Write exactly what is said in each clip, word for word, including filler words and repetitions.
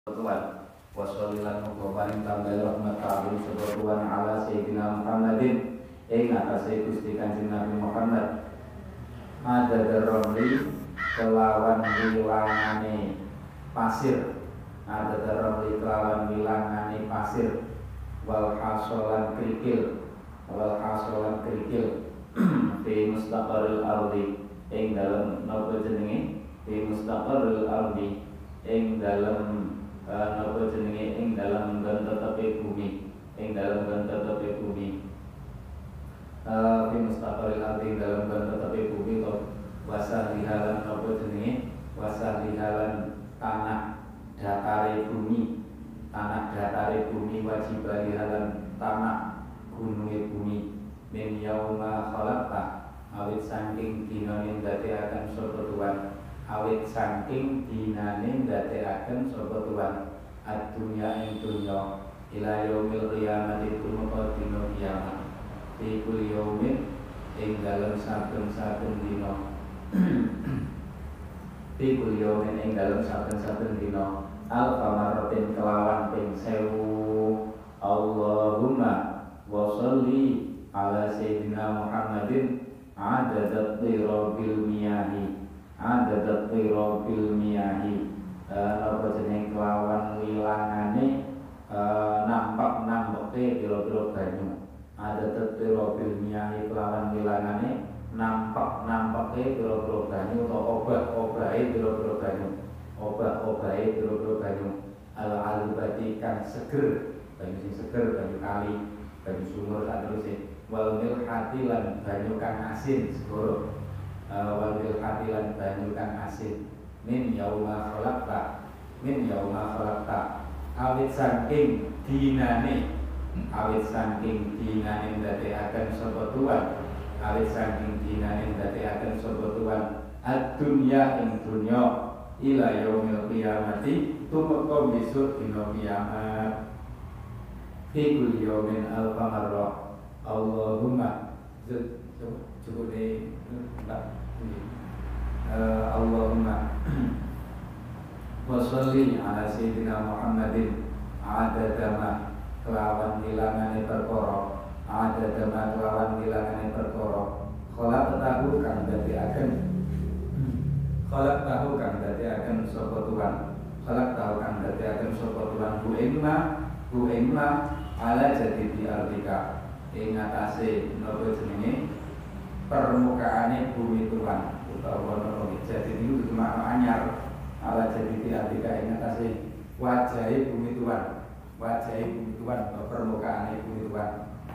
Tuhan wassalilan mugoparing tambah rahmat kawin sebuah ala Sayyidina Muhammadin ing atase Gusti Kanjeng Nabi Muhammad ada daromli kelawan wilangane pasir ada daromli kelawan wilangane pasir wal hasolan krikil wal hasolan krikil di mustaqarril ardi ing dalem napa jenenge di mustaqarril ardi ing dalem napa jenenge ing dalam nggon tetepe bumi ing dalam nggon tetepe bumi eh fi mustaqarril ardi dalam nggon tetepe bumi to wasah lihalan napa jenenge wasah lihalan tanah datare bumi tanah datare bumi wajib lihalan tanah gununge bumi min yauma khalaqta awit saking dina ning dadekaken sapa Tuhan awit saking dinane ndadekaken sapa Tuhan ad-dunya ing dunya ila yaumil qiyamati tumeka dina kiamat fi kulli yaumin ing dalem saben-saben dina fi kulli yaumin ing dalem saben-saben dina alfa marratin kelawan ping sewu Allahumma wa sholli ala sayyidina Muhammadin adadat tirabil miyahi adadat tirabil miyahi napa jeneng kelawan wilangane nampak nampeke pira-pira banyu adadat tirabil miyahi kelawan wilangane nampak nampeke pira-pira banyu utawa obah-obahe pira-pira banyu obah-obahe pira-pira banyu al-alubati kang seger banyu sing seger banyu kali banyu sumur saterusé wal milhati lan banyu kang asin segoro wal milhati lan banyu kang asin min yauma khalaqta min yauma khalaqta awit saking dinane awit saking dinane ndadekaken sapa Tuhan awit saking dinane ndadekaken sapa Tuhan ad-dunya ing dunya ila yaumil qiyamati tumeka besok dina kiamat fi kulli yaumin alfa marrah Allahumma cukup deh Uh, Allahumma wa sholli ala sayyidina Muhammadin adadama kelawan hilangane perkara adadama kelawan hilangane perkara kholaq tahu kang dadekaken kholaq tahu kang dadekaken sapa Tuhan kholaq tahu kang dadekaken sapa Tuhan bu imma bu imma ala jadi di ardika ing atase napa jenenge permukaane bumi Tuhan utawa nopo jadi itu cuma anyar ala jadi di artika ing atase wajahe bumi Tuhan wajahe bumi Tuhan atau permukaane bumi Tuhan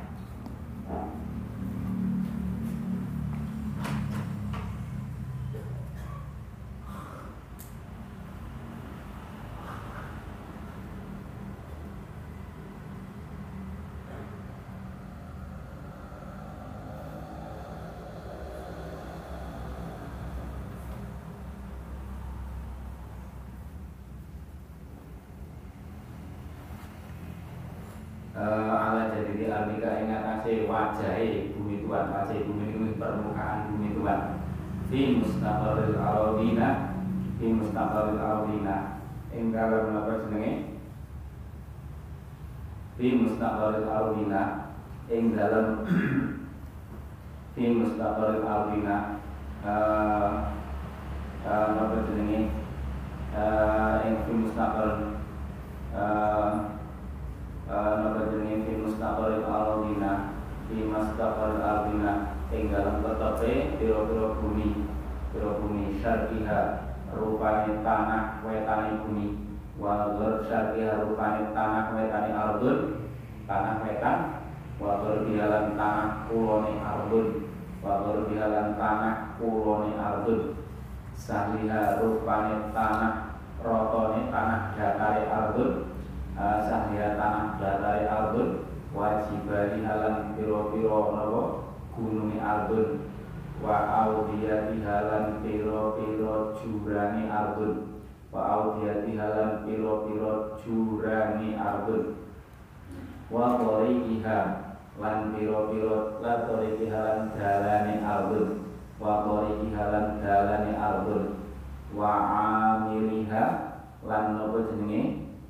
ala jadi di artika ing atase wajahe bumi Tuhan wajahe bumi itu permukaan bumi Tuhan fi mustaqarril ardina fi mustaqarril ardina ing dalem napa jenenge fi mustaqarril ardina ing dalem fi mustaqarril ardina eh napa jenenge eh ing fi mustaqarril eh napa jenenge fi mustaqarril ardina fi mustaqarril ardina ing dalem tetepe pira-pira bumi pira bumi syarqiha rupane tanah wetane bumi wal syarqiha rupane tanah wetane ardun tanah wetan wa berdialan tanah kulone ardun wa berdialan tanah kulone ardun sahliha rupane tanah rotone tanah datare ardun sahliha tanah datare ardun wajibani halan piro-piro napa gununge ardun wa audiyati halan piro-piro jurane ardun wa audiyati halan piro-piro jurane ardun wa qoriha lan piro-piro la qoriha lan dalane ardun wa qoriha lan dalane ardun wa amiliha lan napa jenenge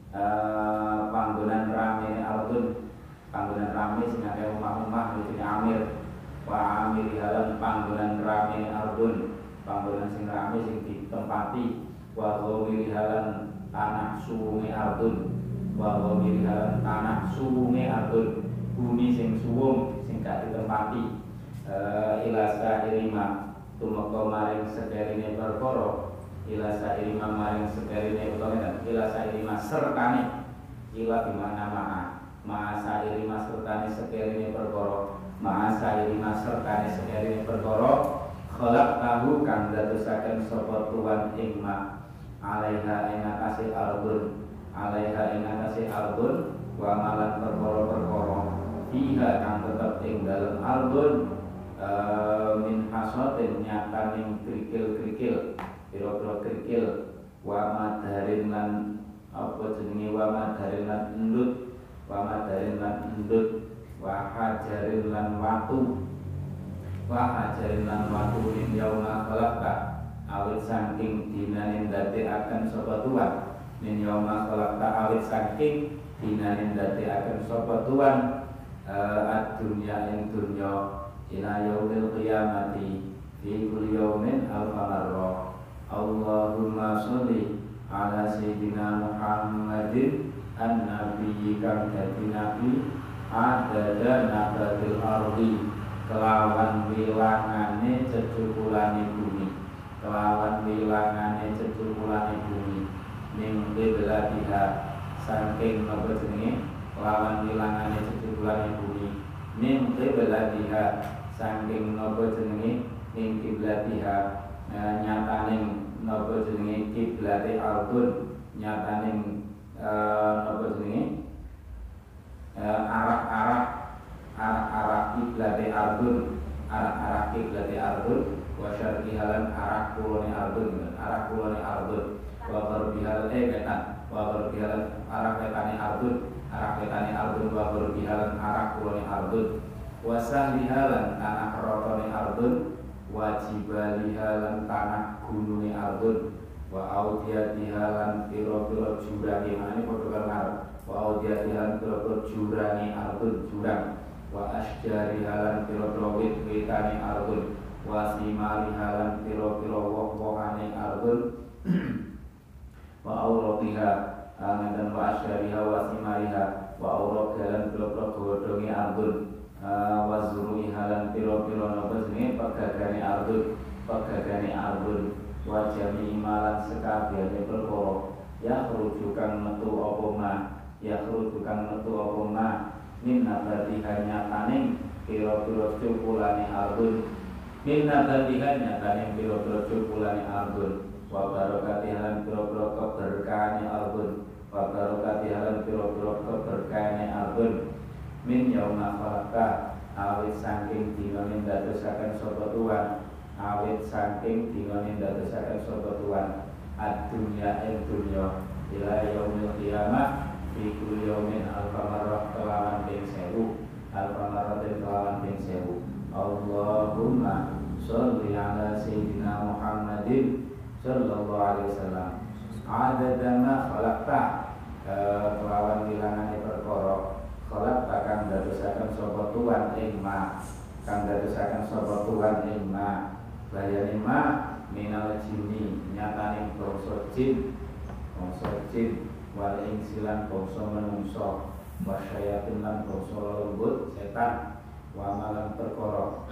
panggonan sing rame sing ditempati wa ghamiri halan tanah suwunge ardun wa ghamiri halan tanah suwunge ardun bumi sing suwung sing gak ditempati uh, ilasa irima tumeka maring sederine perkara ilasa irima maring sederine utawa ilasa irima sertane ila dimana ma'a ma'a irima sertane sederine perkara ma'a irima sertane sederine perkara khalaq tahu kang dadosaken sapa tuan ing ma alaiha ing atase ardun alaiha ing atase ardun wa malan perkara-perkara fiha kang tetep ing dalem ardun uh, min hasatin nyataning krikil-krikil pira-pira krikil wa madarin lan apa jenenge wa madarin lan endut wa madarin lan endut wa hajarin lan watu wa hajarin lan watu min yauma khalaqta awit saking dinaning dadekaken sapa tuan min yauma khalaqta awit saking dinaning dadekaken sapa tuan uh, ad-dunya ing dunya ila yaumil qiyamati fi kulli yaumin alfa marra Allahumma sholli ala sayyidina Muhammadin an-nabiyyi kang dadi nabi adada nabatil ardi kelawan wilangane cecukulane bumi kelawan wilangane cecukulane bumi ning beladiha saking napa jenenge kelawan wilangane cecukulane bumi ning beladiha saking napa jenenge ning kiblatiha e, nyataning napa jenenge kiblate ardun nyataning e, napa jenenge e, arah-arah arah-arah kiblate ardun arah-arah kiblate ardun wa syarqi halan arah kulone ardun arah kulone ardun wa gharbi halan eh ketan wa gharbi halan arah wetane ardun arah wetane ardun wa gharbi halan arah kulone ardun wa sahli halan tanah rotone ardun wa jibali halan tanah gununge ardun wa audiyati halan pira-pira jurange mane padha karo ngarep wa audiyati halan pira-pira jurange ardun jurang wa asjari halan pira-pira wit-witane ardun wa simari halan pira-pira woh-wohane ardun wa auratiha dan wa asjariha wa simariha wa aurat halan pira-pira godhonge ardun wa zurui halan pira-pira napa jenenge pegagane ardun pegagane ardun wa jami malan sekabehane perkara ya rujukan metu apa ma ya rujukan metu apa ma min nabatiha nyataning pira-pira cukulane ardun min nabatiha nyataning pira-pira cukulane ardun wa barakatiha pira-pira keberkahane ardun wa barakatiha pira-pira keberkahane ardun min yauma khalaqta awit saking dina ning dadosaken sapa tuan awit saking dina ning dadosaken sapa tuan ad-dunya ing dunya ila yaumil qiyamah fi kulli yaumin alfa marrah kelawan ping sewu alfa marrah kelawan ping sewu Allahumma sholli ala sayyidina Muhammadin sallallahu alaihi wasallam adada ma khalaqta kelawan wilangane perkara khalaqta kang dadosaken sapa tuan ing ma kang dadosaken sapa tuan ing ma bayane ma minal jinni nyatane bangsa jin bangsa jin wal insilan bangsa menungso wasyayatin lan bangsa lembut setan wa malan perkara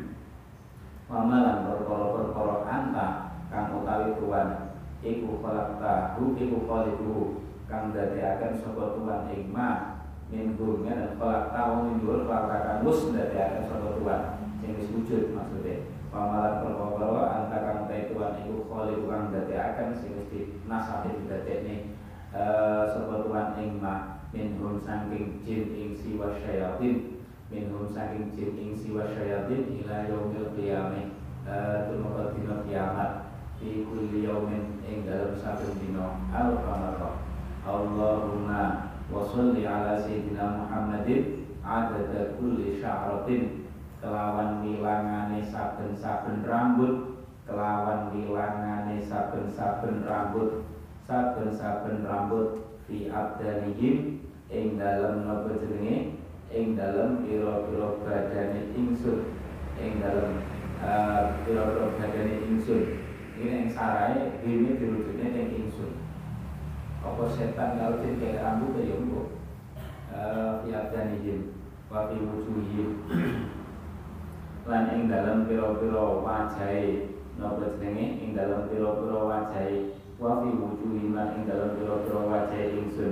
wa malan perkara-perkara anta kang utawi tuan iku khalaqta hu iku khaliqu kang dadekaken sapa tuan ing ma min gurnya dan khalaqta wa min gur khalaqakan mus dadekaken sapa tuan sing wis wujud maksude wa malan perkara anta kang utawi tuan iku khaliqu kang dadekaken sing wis dinasabe didadekne sapa tuan ing ma minhum saking jin ing siwa syayatin minhum saking jin ing siwa syayatin ila yaumil qiyamah tumeka dina kiamat fi kulli yaumin ing dalem saben dina al-qamar Allahumma wa sholli ala sayyidina Muhammadin adada kulli sya'ratin kelawan wilangane saben-saben rambut kelawan wilangane saben-saben rambut saben-saben rambut fi abdanihim ing dalem napa jenenge ing dalem pira-pira badane ingsun ing dalem pira-pira badane ingsun Iki nek sarai dene dirujukne teng ingsun. Apa setan kalau jin kayak rambut ya mbok. Eh ya janijin wa fi wujuhihim. Lan ing dalem pira-pira wajahe napa jenenge ing dalem pira-pira wajahe wa fi wujuhihim lan ing dalem pira-pira wajahe ingsun.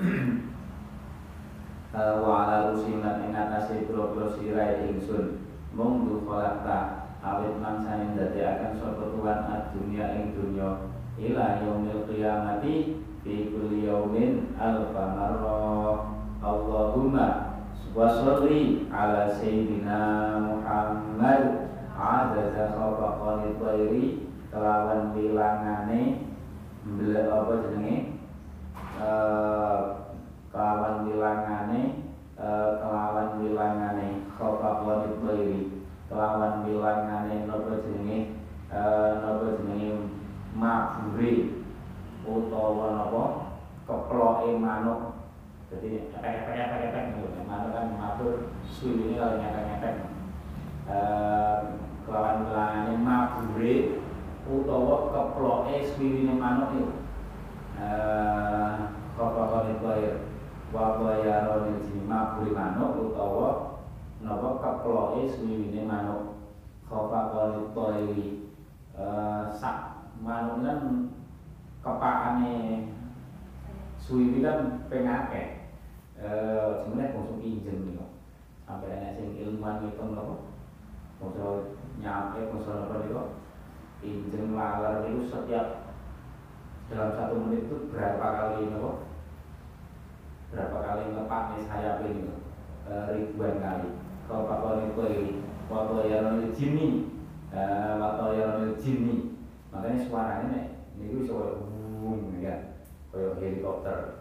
Wa ala rusim lan ing atase pira-pira sirahe ingsun. Mung du kholakta awit mangsane ndadekaken sapa Tuhan ad-dunya ing dunya ila yaumil qiyamati fi kulli yaumin alfa marrah. Allahumma washolli ala sayyidina Muhammad adada khafaqani thairi kelawan bilangane mbel apa jenenge eh kelawan bilangane eh kelawan bilangane khafaqani thairi kelawan bilangane napa jenenge eh napa jenenge mabure utawa napa keploke manuk. Jadi epek-epek-epek gitu. Manuk kan mabur suwine kalau nyepek-nyepek. Eh kelawan bilangane mabure utawa keploke suwine manuk itu. Eh keploke koyo wa bayarone jeneng mabure manuk utawa napa keploke suwine manuk. Keploke koyo eh sak manuk kan kepakane suwi kan pengake eh sebenarnya konsum injen nih kok sampai ana sing ilmuwan ngitung lho kok nyampe konsum apa nih kok injen laler itu setiap dalam satu menit itu berapa kali nih kok berapa kali ngepaknya sayap ini kok e, ribuan kali kalau pakon itu ini waktu yang jini waktu yang jini makanya suaranya nih ini gue suara boom ya kayak helikopter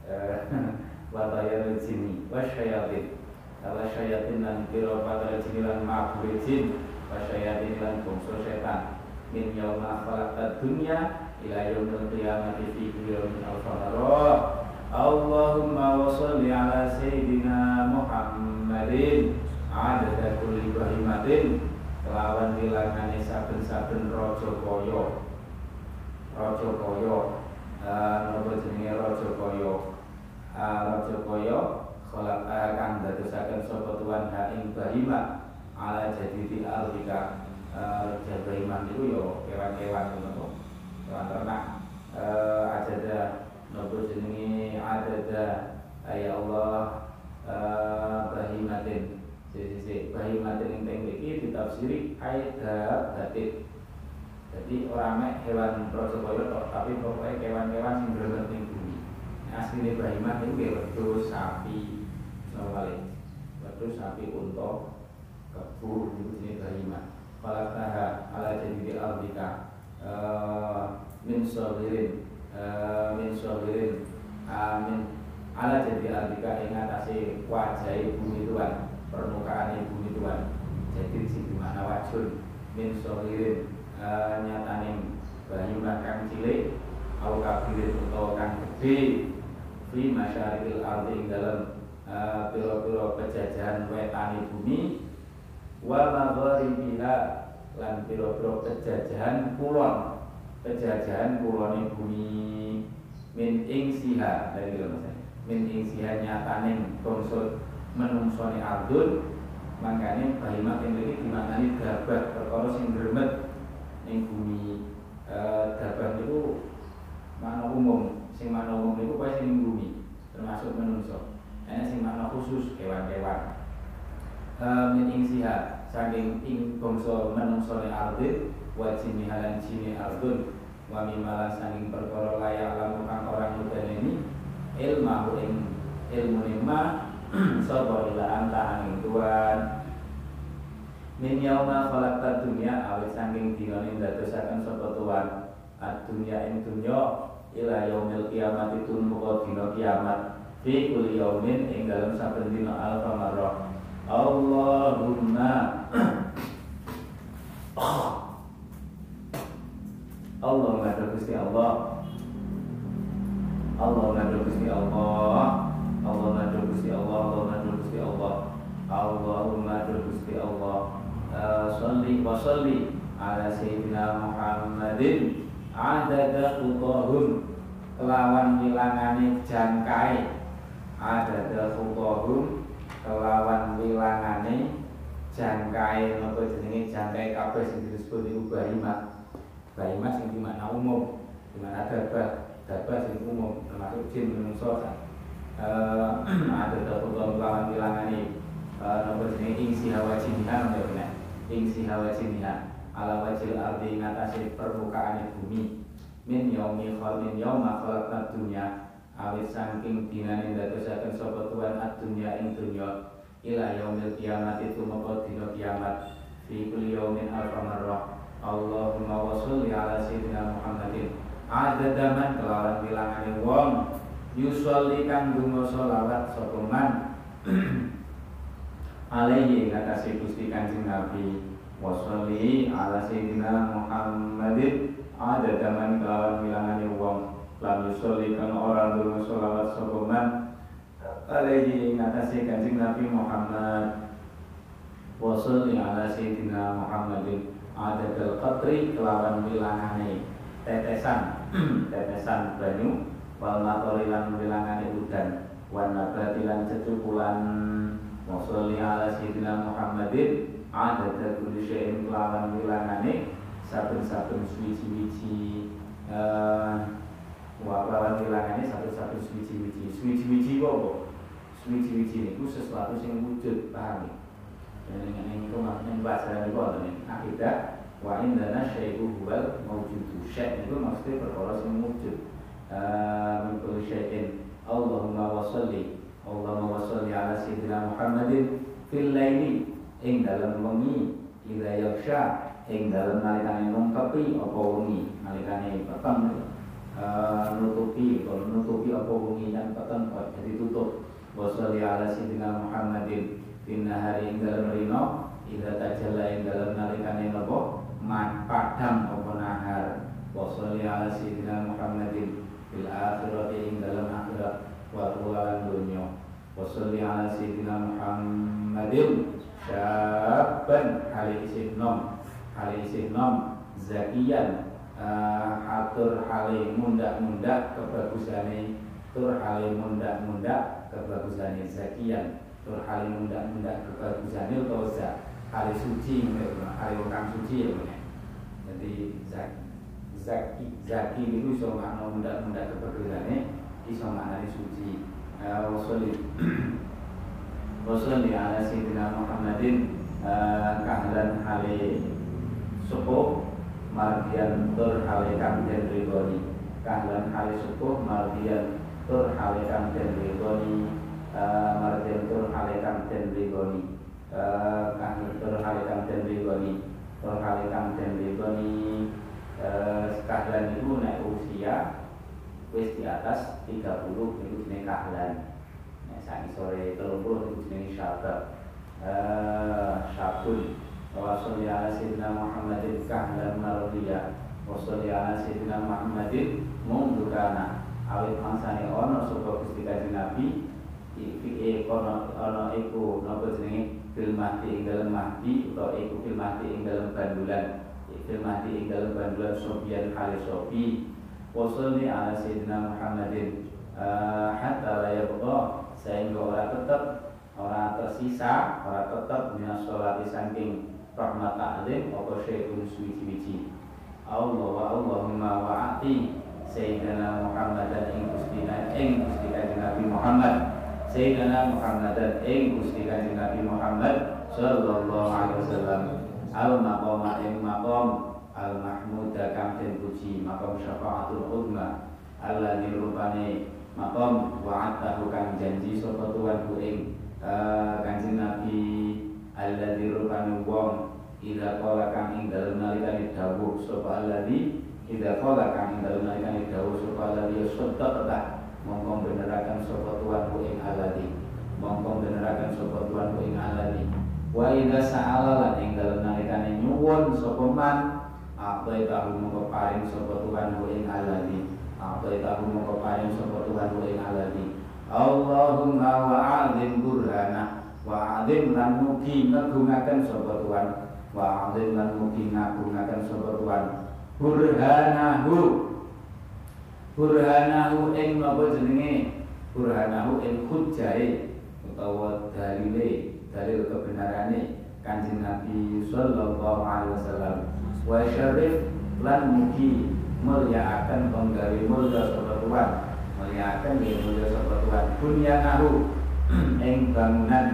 wadaya sini wasyayatin wasyayatin lan pira pada jin lan mabur jin wasyayatin lan bangsa setan min yauma khalaqad dunya ila yaumil qiyamati fi yaumin al-qamar. Allahumma washolli ala sayyidina Muhammadin adada kulli bahimatin kelawan bilangane saben-saben raja kaya raja kaya napa jenenge raja kaya raja kaya kholak kang dadosaken sapa tuan ha ing bahima ala jadidi alika raja bahima niku yo kewan-kewan ngono kewan ternak ajada napa jenenge adada ya Allah bahimatin sisi bahimatin ing teng iki ditafsiri aida batin. Jadi orang mek hewan raja kaya tok, tapi pokoknya kewan-kewan sing bener ning bumi. Asline bahimah itu nggih wedhus, sapi, sawale. Wedhus, sapi, unta, kebo niku jenenge bahimah. Falataha ala jadidi albika eh min sabirin eh min sabirin amin ala jadidi albika ing atase wajahe bumi Tuhan, permukaan bumi Tuhan. Jadi sing dimana wajul min sabirin Uh, nyataning bahimah kang cilik au kabirin utawa kang gedhe fi masyarikil ardi ing dalem uh, pira-pira pejajahan wetane bumi wa magharibiha lan pira-pira pejajahan kulon pejajahan kulone bumi min ing siha dari min ing siha nyataning bangsa menungsone ardun mangkane bahimah ing mriki dimaknani gabah perkara sing gremet ning bumi. Eh gabah niku makna umum, sing makna umum niku kuwi sing bumi, termasuk manungsa. Ana sing makna khusus kewan-kewan. Eh min ing siha saking ing bangsa manungsane ardin wa jini halan jini ardun wa mimalan saking perkara layak lamun kang orang nuteneni ilmu ing ilmu ma sapa ila anta angin Tuhan. Min yauma khalaqta dunya awit saking dinane ndadosaken sapa Tuhan ad-dunya ing dunya ila yaumil qiyamati tumuka dina kiamat fi kulli yaumin ing dalem saben dina alfa marrah. Allahumma Allah maha Gusti Allah Allah maha Gusti Allah Allah maha Gusti Allah Allah maha Gusti Allah Allahumma Gusti Allah salli wa salli ala sayyidina Muhammadin adada khutahum kelawan wilangane jangkai adada khutahum kelawan wilangane jangkai napa jenenge jangkai kabeh sing disebut iku bahima bahima sing dimakna umum dimana dabah dabah sing umum termasuk jin menungso eh adada khutahum kelawan wilangane napa jenenge ing sihawa jinihan bener ing sihawa jinihan ala wajil ardi ngatasi permukaan bumi min yaumi khalmin yauma khalaqat dunya awit saking dinane ndadosaken sapa tuan ad-dunya ing dunya ila yaumil kiamat itu mapa dina kiamat fi kulli yaumin alfa marrah Allahumma wa sholli ala sayyidina Muhammadin adadaman kelawan wilangane wong yusolli kang donga selawat sapa man alaihi ngatasi Gusti Kanjeng Nabi wa sholli ala sayyidina Muhammadin ada zaman kelawan wilangane wong lam yusolli kan orang donga selawat sapa man alaihi ngatasi Kanjeng Nabi Muhammad wa sholli ala sayyidina Muhammadin ada dal qatri kelawan wilangane tetesan tetesan banyu wal matori lan wilangane udan wan nabati lan cecukulan wa sholli ala sayyidina Muhammadin ada kulli syai'in kelawan wilangane saben-saben suwi-wiji eh wa kelawan wilangane saben-saben suwi-wiji suwi-wiji apa suwi-wiji niku sesuatu sing wujud paham ya ning niku maknane bahasa niku wonten akidah wa indana syai'u huwal mawjudu syai' niku maksudnya perkara sing wujud eh min kulli syai'in Allahumma wa sholli Allahumma wa sholli ala sayyidina Muhammadin fil laili ing dalem wengi ila yaksha ing dalem nalikane nungkepi apa wengi nalikane peteng uh, nutupi kalau nutupi apa wengi dan peteng kok jadi tutup wa sholli ala sayyidina Muhammadin fin nahari ing dalem rino ila tajalla ing dalem nalikane napa mat padang apa nahar wa sholli ala sayyidina Muhammadin fil akhirati ing dalem akhirat wa lan dunya wa sholli ala sayyidina Muhammadin syaban hali isih nom hali isih nom zakian uh, atur hali mundak-mundak kebagusane tur hali mundak-mundak kebagusane zakian tur hali mundak-mundak kebagusane utawa zak hali suci hali orang suci ya bener jadi zak zaki zaki itu iso makna mundak-mundak kebagusane iso maknane suci uh, wasoli Wassalli ala sayyidina Muhammadin kahlan hale supuh mardian tur hale kang den ridhoni kahlan hale supuh mardian tur hale kang den ridhoni mardian tur hale kang den ridhoni kahlan tur hale kang den ridhoni tur hale kang den ridhoni kahlan itu nek usia wis di atas tiga puluh itu jenenge kahlan saat sore telung puluh itu jenis syabab syabun wa sholli ala sayyidina Muhammadin kahlan marudiyah wa sholli ala sayyidina Muhammadin mundukana awit mangsane ono sapa Gusti Kanjeng Nabi iki ono ono iku napa jenenge fil mahdi ing dalem mahdi utawa iku fil mahdi ing dalem bandulan fil mahdi ing dalem bandulan sobian kali sobi wa sholli ala sayyidina Muhammadin hatta la yabqa sehingga orang tetap orang tersisa orang tetap minas sholati saking rahmat ta'lim apa syai'un suci-suci Allah wa Allahumma wa'ati Sayyidina Muhammadan ing Gusti ing Gusti Kanjeng Nabi Muhammad Sayyidina Muhammadan ing Gusti Kanjeng Nabi Muhammad sallallahu alaihi wasallam al maqama ing maqam al mahmuda kang den puji maqam syafaatul uzma alladzi rupane maqam wa'atahu kang janji sapa tuanku ing uh, Kanjeng Nabi alladzi rupane wong idza qala kang ing dalem nalikane dawuh sapa alladzi idza qala kang ing dalem nalikane dawuh sapa alladzi sadaqata mongko beneraken sapa tuanku ing alladzi mongko beneraken sapa tuanku ing alladzi wa idza sa'ala lan ing dalem nalikane nyuwun sapa man apa tahu mongko paring sapa tuanku ing alladzi apa tahu mongko paring sapa tuanku ing alladzi Allahumma wa'adzim burhana wa'adzim lan mugi negungaken sapa tuan wa alim lan mugi ngagungaken sapa tuan burhanahu burhanahu ing napa jenenge burhanahu ing hujjahe utawa dalile dalil kebenarane Kanjeng Nabi sallallahu alaihi wasallam wa syarif lan mugi mulyakaken penggawe mulya sapa tuan mulyakaken nggih mulya sapa tuan bunyanahu ing bangunan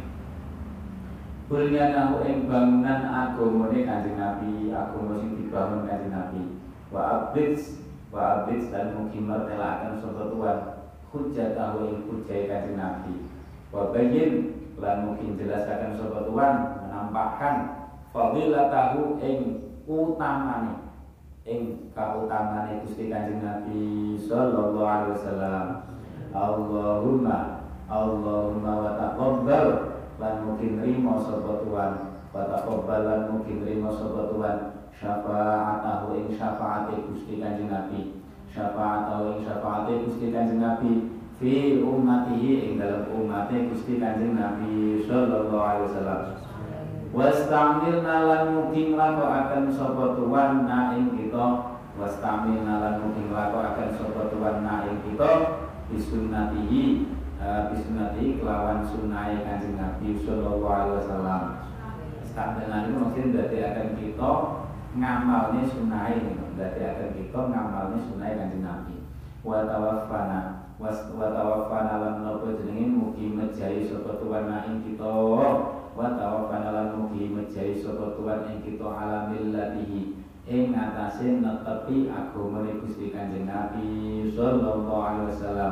bunyanahu ing bangunan agamane Kanjeng Nabi agama sing dibangun Kanjeng Nabi wa ablis wa ablis lan mugi mertelaken sapa tuan hujjatahu ing hujjahe Kanjeng Nabi wa bayyin lan mungkin jelasaken sapa tuan menampakkan fadilatahu ing utamane ing kautamane Gusti Kanjeng Nabi sallallahu alaihi wasallam Allahumma Allahumma wa taqabbal lan mungkin rimo sapa tuan wa taqabbal lan mungkin rimo sapa tuan syafaatahu ing syafaate Gusti Kanjeng Nabi syafaatahu ing syafaate Gusti Kanjeng Nabi fi ummatihi ing dalam umatnya Gusti Kanjeng Nabi sallallahu alaihi wasallam wastamilna lan mugi nglakokaken sapa tuan na ing kita wastamilna lan mugi nglakokaken sapa tuan na ing kita bisunnatihi uh, bisunnatihi kelawan sunahe Kanjeng Nabi sallallahu alaihi wasallam sampeyan niku mungkin dadi akan kita ngamalne sunahe dadi akan kita ngamalne sunahe Kanjeng Nabi wa tawaffana was wa tawaffana lan napa jenenge mugi mejahi sapa tuan ing kita wa tawaffana lan mugi mejahi sapa tuan ing kita ala millatihi ing atase netepi agamane Gusti Kanjeng Nabi sallallahu alaihi wasallam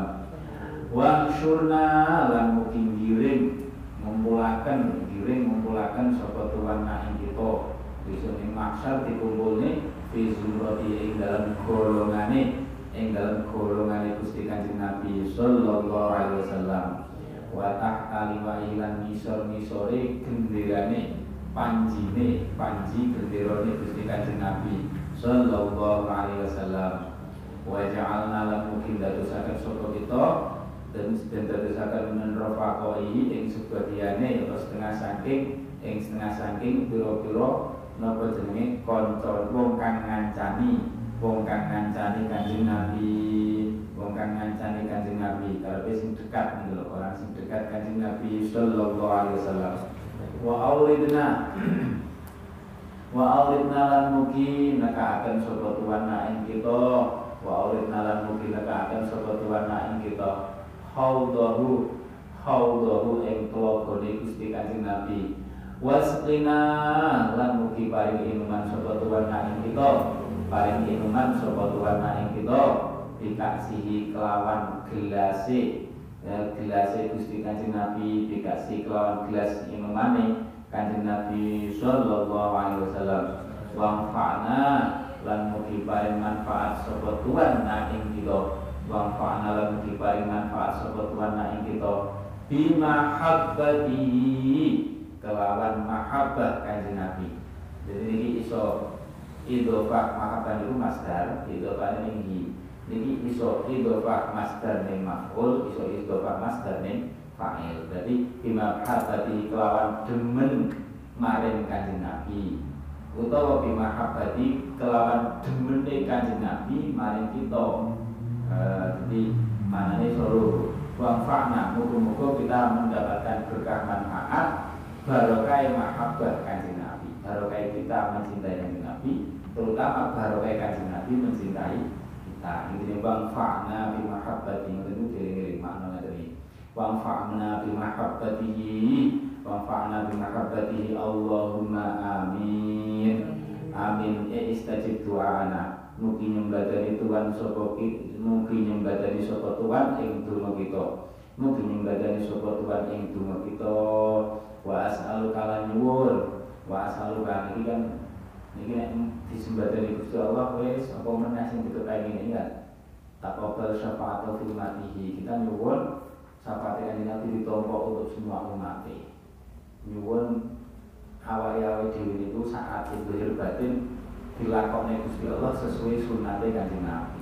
wa syurna lan mugi ngiring ngumpulaken ngiring ngumpulaken sapa tuan ing kita bisa ing maksar dikumpulne fi zumrati ing dalam golongane ing dalam golongane Gusti Kanjeng Nabi sallallahu alaihi wasallam wa tahta liwa'i lan ngisor-ngisore genderane panjine panji genderane Gusti Kanjeng Nabi sallallahu alaihi wasallam wa ja'alna lan mungkin dadosaken sapa kita dan dan dadosaken menrofaqoi ing sebagiane atau setengah saking ing setengah saking pira-pira napa jenenge kanca wong kang ngancani wong kang ngancani Kanjeng Nabi, wong kang ngancani Kanjeng Nabi, karepe sing dekat nih lho, orang sing dekat Kanjeng Nabi sallallahu alaihi wasallam. Wa aulidna wa aulidna lan mugi nekaaken sapa tuan ing kita, wa aulidna lan mugi nekaaken sapa tuan ing kita. Haudahu haudahu ing telagane Gusti Kanjeng Nabi. Wasqina lan mugi paring inuman sapa tuan ing kita. Paling inuman sapa tuan ing kita dikasihi kelawan gelase ya, gelase Gusti Kanjeng Nabi dikasih kelawan gelas inumane Kanjeng Nabi sallallahu alaihi wasallam wa fa'na lan mugi paring manfaat sapa tuan ing kita wa fa'na lan mugi paring manfaat sapa tuan ing kita bima habbati kelawan mahabbah Kanjeng Nabi. Jadi ini iso idhofah mahabbah itu masdar, idhofah ning niki iso idhofah masdar ning maf'ul, iso idhofah masdar ning fa'il. Jadi bima habbati kelawan demen maring Kanjeng Nabi utawa bima habbati kelawan demene Kanjeng Nabi maring kita. Uh, jadi manane solo wa fa'na muga-muga kita mendapatkan berkah manfaat barokah mahabbah Kanjeng Nabi, barokah kita mencintai Kanjeng Nabi, terutama barokah Kanjeng Nabi mencintai kita. Ini bang fa'na bi mahabbati, itu diri-diri makna dari bang fa'na bi mahabbatihi, bang fa'na bi mahabbatihi. Allahumma amin amin. E istajib doana mugi nyembadani Tuhan sapa kita, mugi nyembadani sapa Tuhan ing donga kita, mugi nyembadani sapa Tuhan ing donga kita. Wa as'aluka lan nyuwun, wa as'aluka iki kan niki nek disembadani Gusti Allah wis apa meneh sing dikepengin ingat taqabbal syafa'atu fi ummatihi. Kita nyuwun syafaat Kanjeng Nabi ditampa untuk semua umat. Nyuwun awake-awake dhewe niku saat zahir batin dilakoni Gusti Allah sesuai sunate Kanjeng Nabi.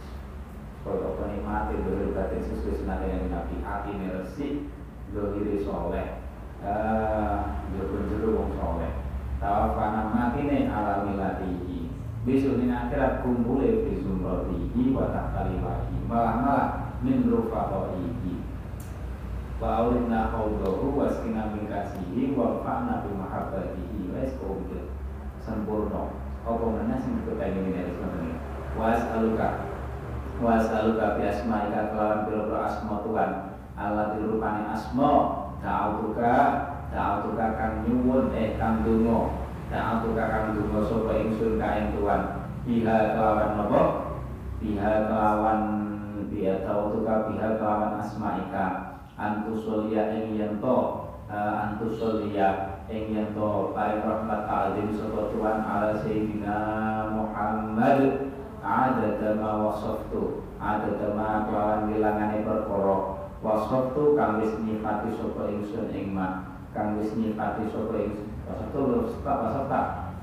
Kaya apa nikmate zahir batin sesuai sunate Kanjeng Nabi, atine resik, zahire saleh. Ah, jero-jero wong saleh. tawafana matine ala milatihi besok ning akhirat kumpule fi zumratihi wa tahkaliwahi malah-malah min rufaqaihi wa aulina qawluhu wa skina min kasihi wa fa'na bi mahabbatihi wis komplit sempurna apa meneh sing dikepengin dari sampeyan was'aluka was'aluka bi asma'ika kelawan pira-pira asma Tuhan Allah dirupani asma ta'atuka ta'atuka kang nyuwun eh kang donga ta'atuka kang donga sapa ingsun ka ing Tuhan biha kelawan napa biha kelawan biha ta'atuka biha kelawan asma'ika antusolia ing yen to antusolia ing yen to paring rahmat ta'alim sapa Tuhan ala sayyidina Muhammad adada ma wasaftu adada ma kelawan wilangane perkara wasaftu kang wis nyifati sapa ingsun ing ma kang wis nyifati sapa ingsun wasaftu wasafta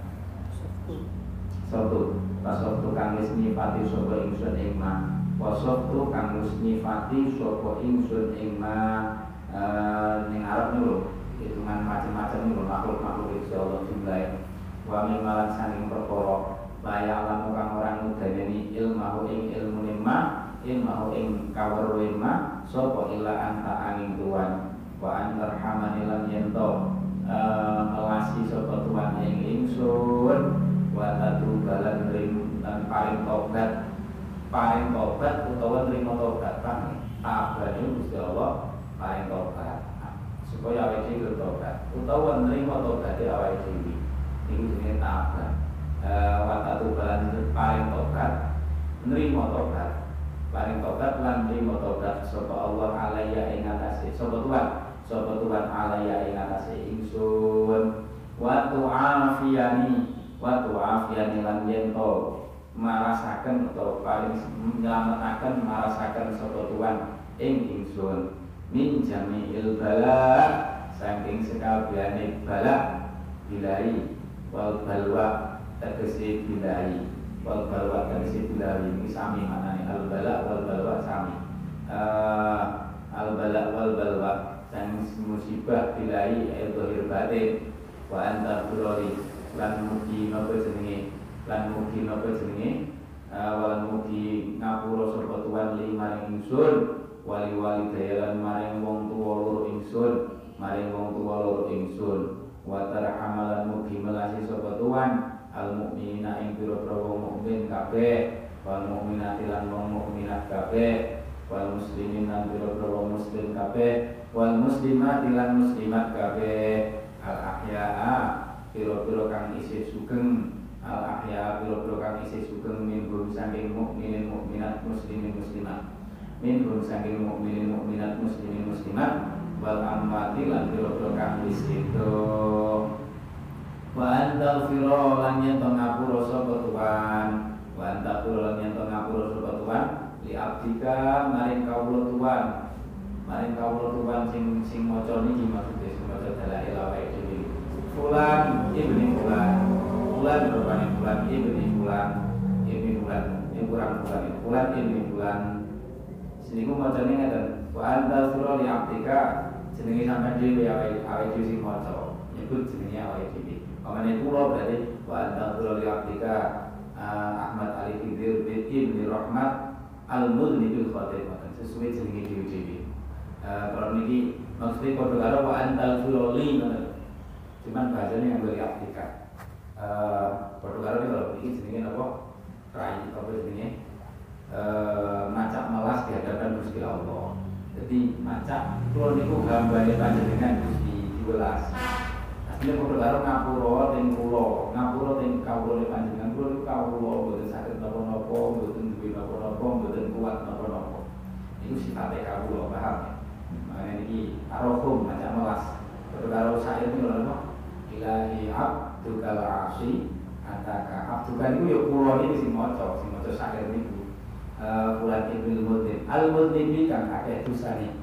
wasaftu wasaftu kang wis nyifati sapa ingsun ing ma wasaftu kang wis nyifati sapa ingsun ing ma ning Arab niku hitungan macam-macam niku makhluk-makhluk Gusti Allah jumlahe wa min malan saking perkara layak lamu kang orang mudhaneni ilmahu ing ilmune ma ilmahu ing kaweruhe ma sapa illa anta angin Tuhan wa antarhamani lan yento melasi sapa Tuhan ing ingsun wa tatu balan ring lan paring tobat paring tobat utawa nrimo tobat kan abane Gusti Allah paring tobat supaya awake dhewe tobat utawa nrimo tobate awake dhewe iki jenenge tobat watatu balan paring tobat nrimo tobat paring tobat lan nrimo tobat sapa Allah alaiya ing atase sapa Tuhan sapa Tuhan alaiya ing atase ingsun wa tu'afiyani wa tu'afiyani lan yen to marasaken utawa paring nyelametaken marasaken sapa Tuhan ing ingsun min jami'il bala saking sekabehane bala bilai wal balwa tegese bilai wal balwa tegese bilai ini sami maknane al bala wal balwa sami uh, al bala wal balwa sang musibah bilai ayat zahir batin wa anta burori lan mugi napa jenenge lan mugi napa jenenge uh, lan mugi ngapura sapa Tuhan limaring ingsun wali-wali dayalan maring wong tuwa loro ingsun maring wong tuwa loro ingsun wa tarhamalan mugi melasi sapa Tuhan al mukminina ing pira-pira wong mukmin kabeh wal mukminati lan wong mukminat kabeh wal muslimin lan pira-pira wong muslim kabeh wal muslimati lan muslimat kabeh al ahyaa pira-pira kang isih sugeng al ahyaa pira-pira kang isih sugeng minhum saking mukminin mukminat muslimin muslimat minhum saking mukminin mukminat muslimin muslimat wal ammati lan pira-pira kang wis itu wa antal firo lan yen to ngapura sapa Tuhan wa antal firo lan yen to ngapura sapa Tuhan li abdika maring kawula Tuhan maring kawula Tuhan sing sing maca niki maksude sing maca dalail awake dhewe fulan ibni fulan fulan rupane fulan ibni fulan ibni fulan iki kurang fulan fulan ibni fulan siniku macane ngeten wa antal firo li abdika jenenge sampeyan dhewe awake awake dhewe sing maca nyebut jenenge awake dhewe Pamane kula berarti wa antal li abdika Ahmad Ali Khidir bin Ibni Rahmat Al-Mudnibil Khatimah sesuai jenenge dhewe-dhewe. Kalau niki maksudnya padha karo wa antal li ngoten. Cuman bahasane nganggo li abdika. Eh padha karo kalau iki jenenge napa? Rai apa jenenge? Eh macak melas di hadapan Gusti Allah. Jadi macak kula niku gambare panjenengan Gusti diwelas. Ini kudu karo ngapura teng kula, ngapura teng kawula panjenengan kula niku kawula mboten saged napa-napa, mboten duwe napa-napa, mboten kuat napa-napa. Iku sifate kawula, paham ya? Makane iki arohum macam melas. Kudu karo sair niku lho apa? Ilahi abdukal asi ataka abdukan niku ya kula iki sing maca, sing maca sair niku. Eh Fulan ibnu Mudin, al-Mudin kang akeh dosane.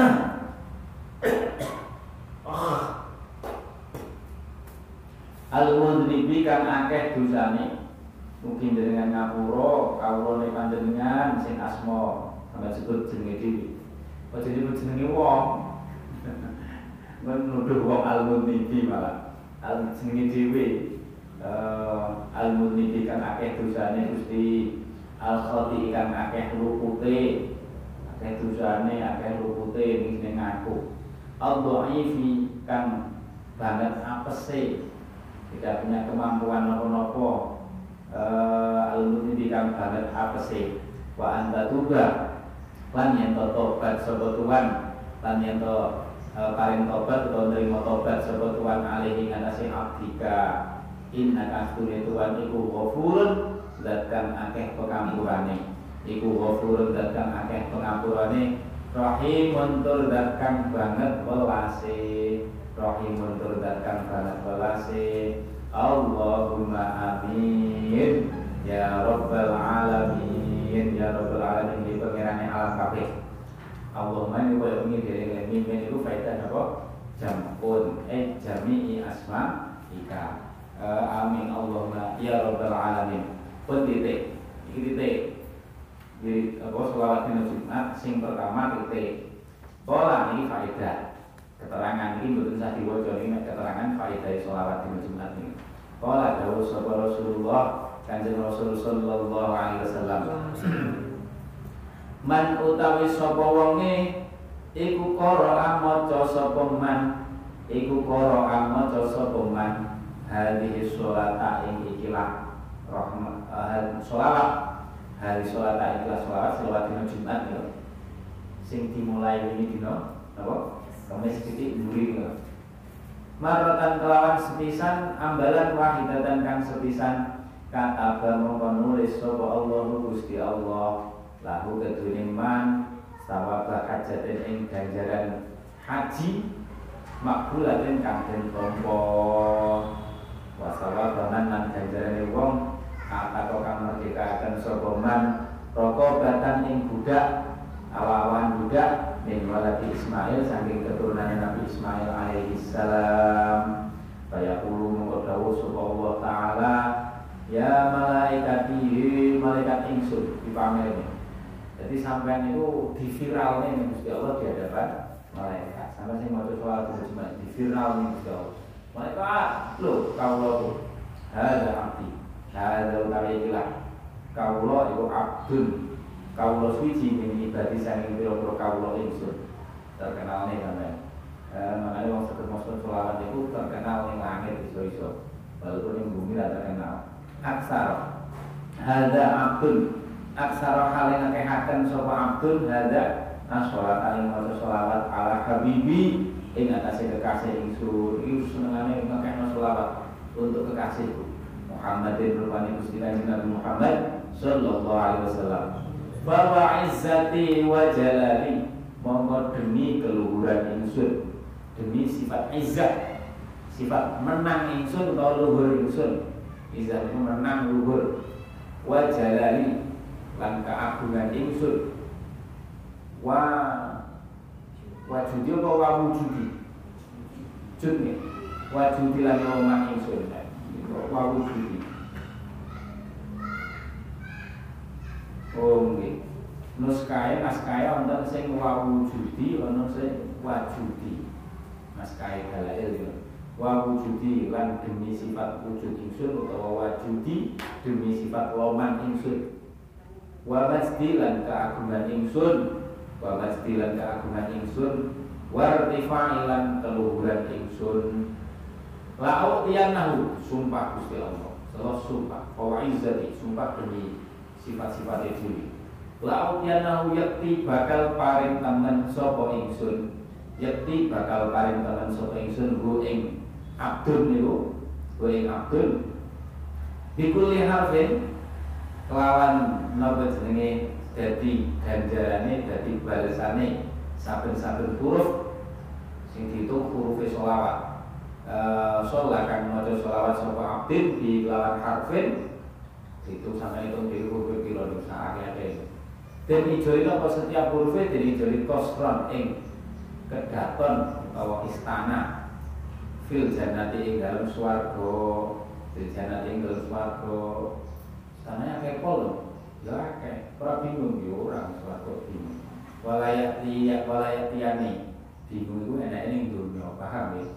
Al-mudribi kang akeh dosane mungkin dengan ngapura kawulane panjenengan sing asma sampe sebut jenenge dhewe aja nyebut jenenge wong men nuduh wong al-mudribi malah al jenenge dhewe al mudnibi kan akeh dosane Gusti, al khati kan akeh lupute, akeh dosane akeh lupute ning sing ngaku, al dhaifi kan banget apese, tidak punya kemampuan napa-napa, al mudnibi kan banget apese, wa anta tuba lan yen tobat sapa Tuhan, lan yen to paring tobat utawa nrimo tobat sapa Tuhan alihi ngatasi abdika, inna kastune Tuhan iku ghafurun zat kang akeh pengampurane, iku ghafurun zat kang akeh pengampurane, rahimun tur zat kang banget welase, rahimun tur zat kang banget welase. Allahumma amin ya rabbal alamin, ya rabbal alamin di pengirane alam kabeh. Allahumma ini kaya ingin dari mimin itu faedah apa? Jampun eh jami'i asma ika. Uh, amin Allahumma ya rabbal alamin. Pun titik, iki titik. Jadi apa selawat dina Jumat sing pertama titik. Pola ini faedah. Keterangan ini mboten sah diwaca ini keterangan faedah selawat dina Jumat ini. Pola dawuh sapa Rasulullah Kanjeng Rasul sallallahu alaihi wasallam. Man utawi sapa wonge iku qara'a maca sapa man, iku qara'a maca sapa man hadhihi sholata ing ikilah rahmat uh, sholawat hari sholata ikilah sholawat selawat dina Jumat ya. Sing dimulai ini dina napa? Kamis titik mburi ya. Maratan kelawan sepisan ambalan wahidatan kang sepisan kata mongko nulis sapa Allah Gusti Allah lahu kedune man sawaba hajatin ing ganjaran haji makbulatin kang den tampa wa sawaban lan ganjarane wong atau kang merdekaken sapa man rokobatan ing budak awawan budak min waladi Ismail saking keturunan Nabi Ismail alaihi salam. Fayaqulu mongko dawuh sapa Allah taala ya malaikati malaikat ingsun dipamerne. Jadi sampean itu diviralnya nih Gusti Allah di hadapan malaikat. Sampai sing maca sholawat Jumat diviral nih Gusti Allah. Malaikat, lho kawula tuh. Hada abdi. Hada utawi ikilah. Kawula iku abdun. Kawula suci min ibadi saking pira-pira kawula ingsun. Terkenal nih sampean. Eh makane wong saged maca sholawat iku terkenal ning langit iso-iso. Walaupun ning bumi ra terkenal. Aksar. Hada abdun. Aksara halin akehaken sapa abdun hada as-sholat aling maca sholawat ala habibi ing atase kekasih ingsun. Iki senengane ngakehno sholawat untuk kekasihku Muhammadin rupane Gusti Kanjeng Nabi Muhammad sallallahu alaihi wasallam. Wa izzati wa jalali monggo demi keluhuran ingsun, demi sifat izzah, sifat menang ingsun utawa luhur ingsun. Izzah itu menang luhur. Wa jalali lan keagungan ingsun wa wajudi apa wa wujudi judnya wajudi lan omah ingsun wa wujudi oh nggih nuskae naskae wonten sing wa wujudi ana sing wajudi naskae dalail yo wa wujudi lan demi sifat wujud ingsun utawa wajudi demi sifat loman ingsun wa masdilan keagungan ingsun wa masdilan keagungan ingsun wartifailan keluhuran ingsun la'utiyanahu sumpah Gusti Allah Allah sumpah wa izzati sumpah demi sifat-sifat dhewe la'utiyanahu yakti bakal paring temen sapa ingsun yakti bakal paring temen sapa ingsun hu ing abdun niku hu ing abdun bikuli harfin kelawan napa jenenge dadi ganjarane dadi balesane saben-saben huruf sing diitung hurufe sholawat. Eh sholat kang maca sholawat sapa abdin di lawan harfin itu sampai itu di huruf pira ning sakake. Den ijoli apa setiap hurufe den ijoli kosron ing kedaton utawa istana fil jannati ing dalem swarga, fil jannati ing dalem swarga. Tanahnya kayak pol, ya kayak orang bingung ya orang suatu bingung. Walayati ya walayati ane bingung itu enak ini dunia paham ya.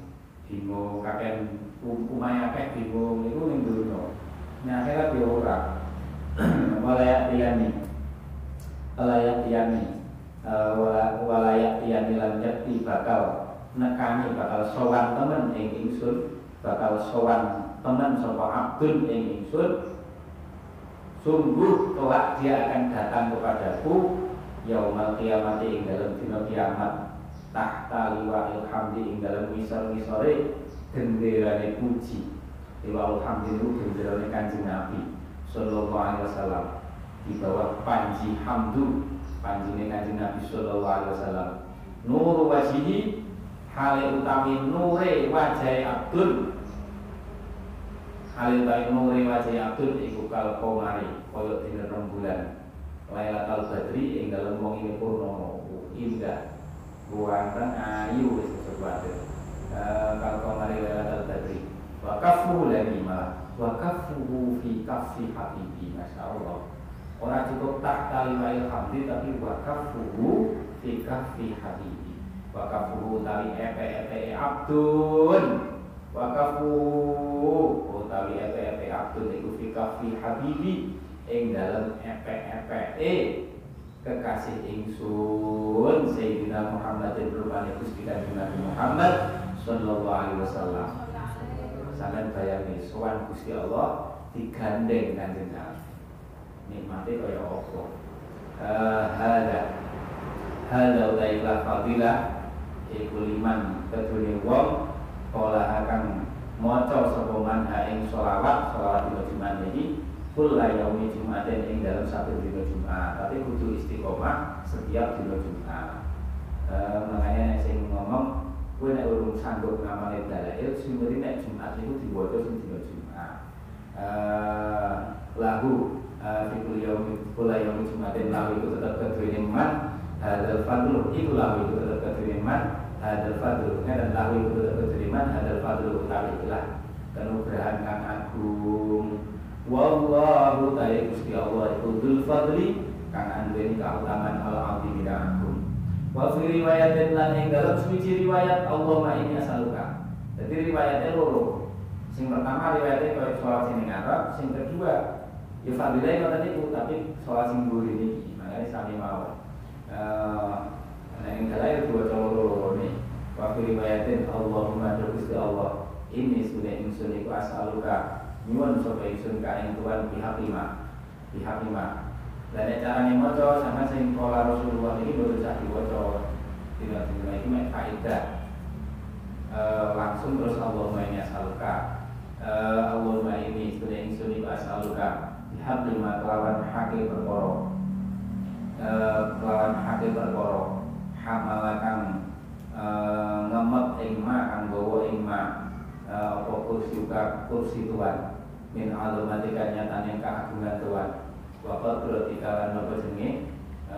bingung kakek umumnya kakek bingung itu ning dunya. Nah akhirat yo ora. Walayak tiyani. Walayak tiyani. Walayak tiyani lan yakti bakal nekani bakal sowan temen ing ingsun, bakal sowan temen sapa abdun ing ingsun. Sungguh kelak dia akan datang kepadaku yaumal qiyamati ing dalam dina kiamat tahta liwa'il hamdi ing dalam ngisor-ngisore genderane puji. Liwa'il hamdi itu genderane Kanjeng Nabi sallallahu alaihi wasallam, di bawah panji hamdu panjine Kanjeng Nabi sallallahu alaihi wasallam. Nur wajhi hale utawi nure wajahe Abdul, hale utawi nure wajahe Abdul iku kal qamari kaya dina rembulan Lailatul Badri ing dalem wengi purnama. Indah buatan ayu wis sesuatu kal qamari Lailatul Badri. Wa kafu lagi malah wa kafuhu fi kafi habibi. Masyaallah. Ora cukup tak kalimail hamdi tapi wa kafuhu fi kafi habibi. Wa kafuhu tali epe-epe abdun. Wa kafuhu utawi epe-epe abdun iku fi kafi habibi ing dalem epe-epe e kekasih ingsun Sayyidina Muhammad rupane Gusti Kanjeng Nabi Muhammad sallallahu alaihi wasallam. Sampeyan bayangke sowan Gusti Allah digandeng Kanjeng Nabi. Nikmate kaya apa? Eh hada. Hada utaila fadilah iku liman kedune wong kala akan maca sapa man ha ing selawat selawat dina Jumat iki kula yaumi Jumaten ing dalam satu dina Jumat, tapi kudu istiqomah setiap dina Jumat. Eh makanya sing ngomong kowe nek urung sanggup ngamale dalail sing penting nek Jumat iku diwaca sing dina Jumat. Eh lahu fikul yaumi kula yaumi Jumaten lahu iku tetep kedune man hadal fadlu iku lahu iku tetep kedune man hadal fadlu dan lahu iku tetep kedune man hadal fadlu utawi ikhlas kanugrahan kang agung. Wallahu ta'ala Gusti Allah iku dzul fadli kang anduweni kautamaan al azim kang agung. Wa fi riwayatin lan ing dalem suci riwayat Allahumma inni as'aluka. Jadi riwayatnya loro. Sing pertama riwayatnya kaya salat sing Arab, sing kedua ya fadilah ngoten niku tapi salat sing mburi niki. Makane sami mawon. Eh ana ing dalem dua loro nih. Wa fi riwayatin Allahumma Gusti Allah inni sunne ingsun iku as'aluka nyuwun sapa ingsun ka ing Tuhan pihak lima pihak lima. Dan carane maca sama sing kala Rasulullah iki boten sak diwaca dina-dina iki mek faedah e, langsung terus Allahumma inni as'aluka e, Allahumma inni sunne ingsun iku as'aluka pihak lima kelawan hakil perkara e, kelawan hakil perkara hamalakan e, ngemet ing ma kang gawa ing ma apa kursi kursi Tuhan min alumatika nyatane keagungan Tuhan. Bapak berarti kalan apa jenenge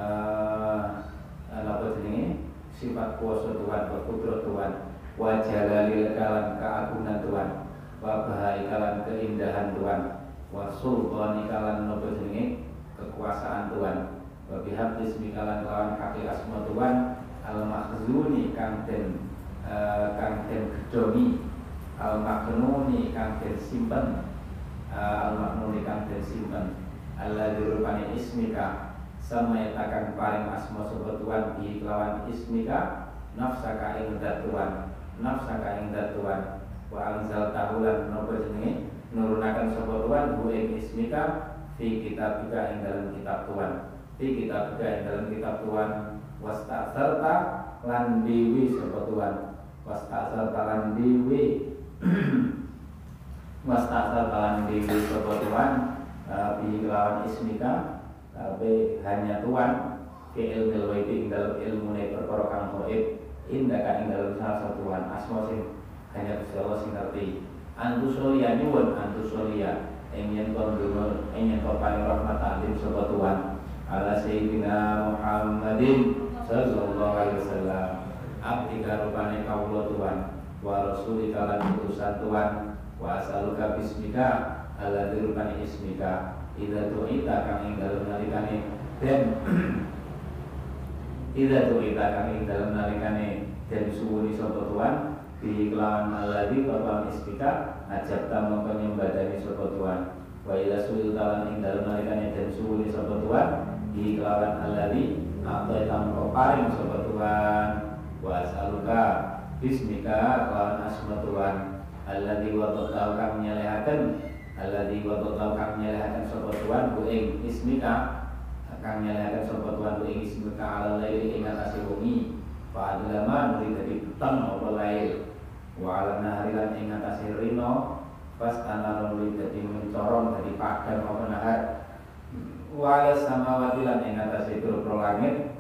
eh apa jenenge sifat kuasa Tuhan, kudrat Tuhan, wa jalalil kalan keagungan Tuhan, wa bahai kalan keindahan Tuhan, wa sultani kalan apa jenenge kekuasaan Tuhan, wa bihaq ismi kalan lawan haki asma Tuhan, al makhzuni kang den uh, kang den gedhongi, al maknuni kang den simpen, uh, al maknuni kang den simpen. Allah dirupani ismika sama akan paring asma sobat Tuhan di kelawan ismika nafsaka ing dat Tuhan nafsaka ing dat Tuhan wa anzal tahulan nopo jenenge nurunakan sobat Tuhan bu ing ismika fi kitabika ing dalam kitab Tuhan fi kitabika ing dalam kitab Tuhan wastasarta lan dewi sobat Tuhan wastasarta lan dewi wastasarta lan dewi sobat Tuhan bi lawan ismika tapi hanya Tuhan ke ilmu waiti ing dalam ilmu ne perkara kang gaib indah ka ing dalam salah satu Tuhan asma sing hanya Gusti Allah sing ngerti antusolia nyuwun antusolia ing yen kon dungo ing yen kon paring rahmat alim sapa Tuhan ala sayyidina Muhammadin sallallahu alaihi wasallam abdi karupane kawula Tuhan wa rasulika lan utusan Tuhan wa asaluka bismika ala dirupani ismika idza tu'ita kang ing dalem nalikane den idza tu'ita kang ing dalem nalikane den suwuni sapa Tuhan bi kelawan alladzi kelawan isbika ajabta mongko nyembadani sapa Tuhan wa ila sul talan ing dalem nalikane den suwuni sapa Tuhan bi kelawan alladzi apa tamko paring sapa Tuhan wa asaluka bismika kelawan asma Tuhan alladzi wa ta'ala kang nyelehaken alladzi wa ta'ala kang nyelehaken sapa Tuhan ku ing ismika kang nyelehaken sapa Tuhan ku ing ismika ala laili ing atase wengi fa adlama nuli dadi peteng apa lail wa ala nahari lan ing atase rino pas ana nuli dadi mencorong dadi padang apa nahar wa ala samawati lan ing atase pira-pira langit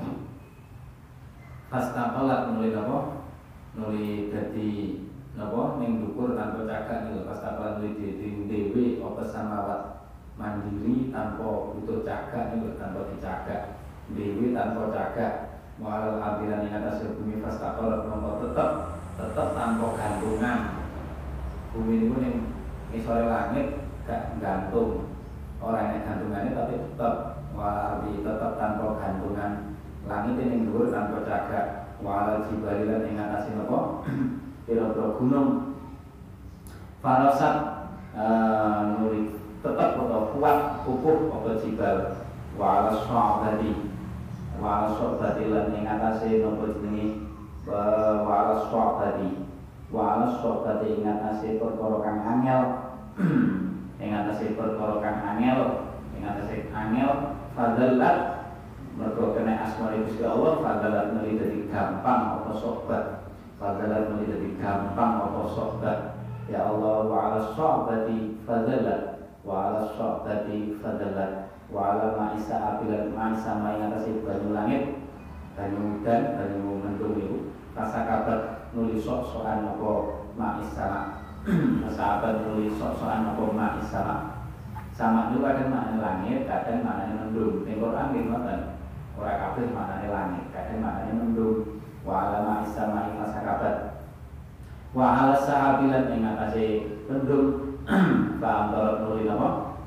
pas takolat nuli napa nuli dadi napa ning dhuwur tanpa cagak niku pas takolat nuli dadi dhewe apa samawat mandiri tanpa butuh cagak niku tanpa dicagak dhewe tanpa cagak walau abilan ing atas bumi fastaqalat mongko tetep tetep tanpa gantungan bumi niku ning isore langit gak gantung ora enek gantungane tapi tetep walau abi tetep tanpa gantungan langit ning dhuwur tanpa cagak walau jibali lan ing atas napa pira-pira gunung farasat uh, nuri tetap atau kuat kukuh apa jibal wa ala sa'bati wa ala sa'bati lan ing atase napa jenenge wa ala sa'bati wa ala sa'bati ing atase perkara kang angel ing atase perkara kang angel ing atase angel fadallat mergo kena asma Gusti Allah fadallat meli dadi gampang apa sobat fadallat meli dadi gampang apa sobat ya Allah wa ala sa'bati fadallat wa ala sa'bati fadalat wa ala ma'isa abilan ma'isa ma'in atasi banyu langit banyu udan, banyu mendung itu kasakabat nulis sok-sokan apa ma'isa kasakabat nulis sok-sokan apa ma'isa sama itu kadang maknanya langit, kadang maknanya mendung di Quran gitu kan orang kabeh maknanya langit, kadang maknanya mendung wa ala ma'isa ma'in kasakabat wa ala sahabilan yang atasi mendung Pak Amtorot nuli nama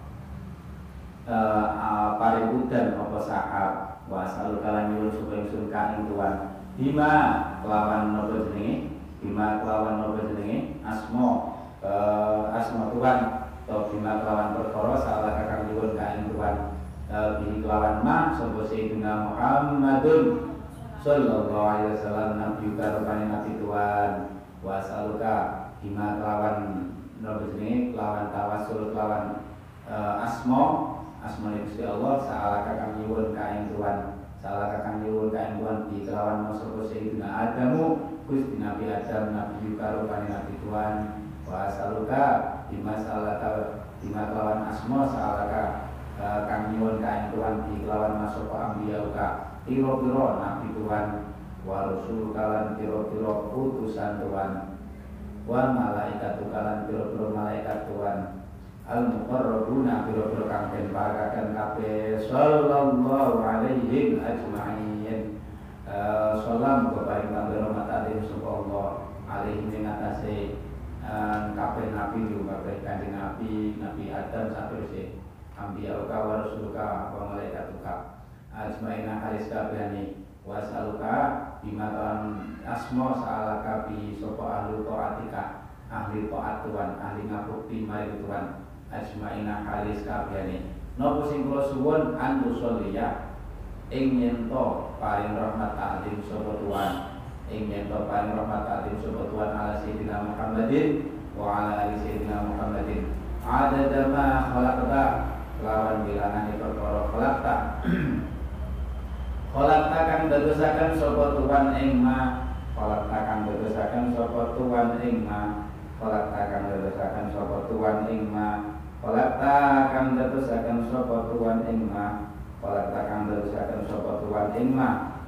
uh, paring udan apa sahab wa asal kalan nyuwun supaya ingsun ka ing Tuhan bima kelawan napa jenenge bima kelawan napa jenenge asma uh, asma Tuhan atau bima kelawan perkara salah kakang nyuwun ka ing Tuhan uh, bi kelawan ma sapa sayyidina Muhammadun sallallahu alaihi wasallam nabi karepane nabi Tuhan wa asaluka bima kelawan nopo jenenge lawan tawasul lawan uh, asma asma Gusti Allah saala kakang nyuwun ka ing Tuhan saala kakang nyuwun ka ing Tuhan di kelawan masuk sayyidina Adamu Gusti Nabi Adam nabi karupane nabi Tuhan wa asaluka bima salata bima kelawan asma saala uh, kang nyuwun ka ing Tuhan di kelawan masuk ambiya ka pira-pira nabi Tuhan wa rasul kalan pira-pira utusan Tuhan wa malaikatu kalan pira-pira malaikat Tuhan al muqarrabuna pira-pira kang den parakaken kabeh sallallahu alaihi ajma'in uh, salam kepada rahmat alim sapa Allah alaihi ing atase uh, kabeh nabi yo kabeh kanjeng nabi nabi Adam saterusé ambiya ka wa rasuluka wa malaikatuka ajma'in halis kabehane wasaluka bimatan asma sa'alaka bi sapa ahli taatika ahli taat Tuhan ahli ngabukti mari Tuhan ajmaina halis kabehane napa sing kula suwun antusolliya ing yen to paring rahmat ta'zim sapa Tuhan ing yen to paring rahmat ta'zim sapa Tuhan ala sayyidina Muhammadin wa ala ali sayyidina Muhammadin adada ma khalaqta lawan bilangane perkara khalaqta Kolak takang dadosaken sapa Tuhan ing ma kolak takang dadosaken sapa Tuhan ing ma kolak takang dadosaken sapa Tuhan ing ma kolak takang dadosaken sapa Tuhan ing ma kolak takang dadosaken sapa Tuhan ing ma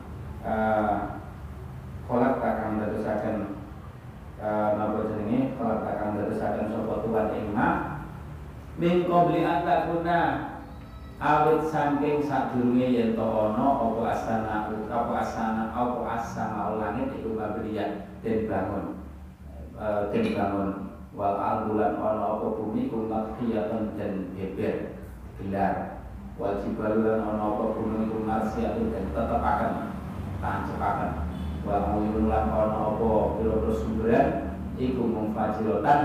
kolak takang dadosaken napa jenenge kolak takang dadosaken sapa Tuhan ing ma min qabli an takuna awit saking sadurunge yen to ana apa asana apa asana apa asama langit iku kabriyan den bangun e, den bangun wal ardulan ana apa bumi iku makhiyatan den beber gelar wal jibalan ana apa gunung iku marsiyatun den tetepaken tancepaken wal mulun lan ana apa pira-pira sumberan iku mufajiratan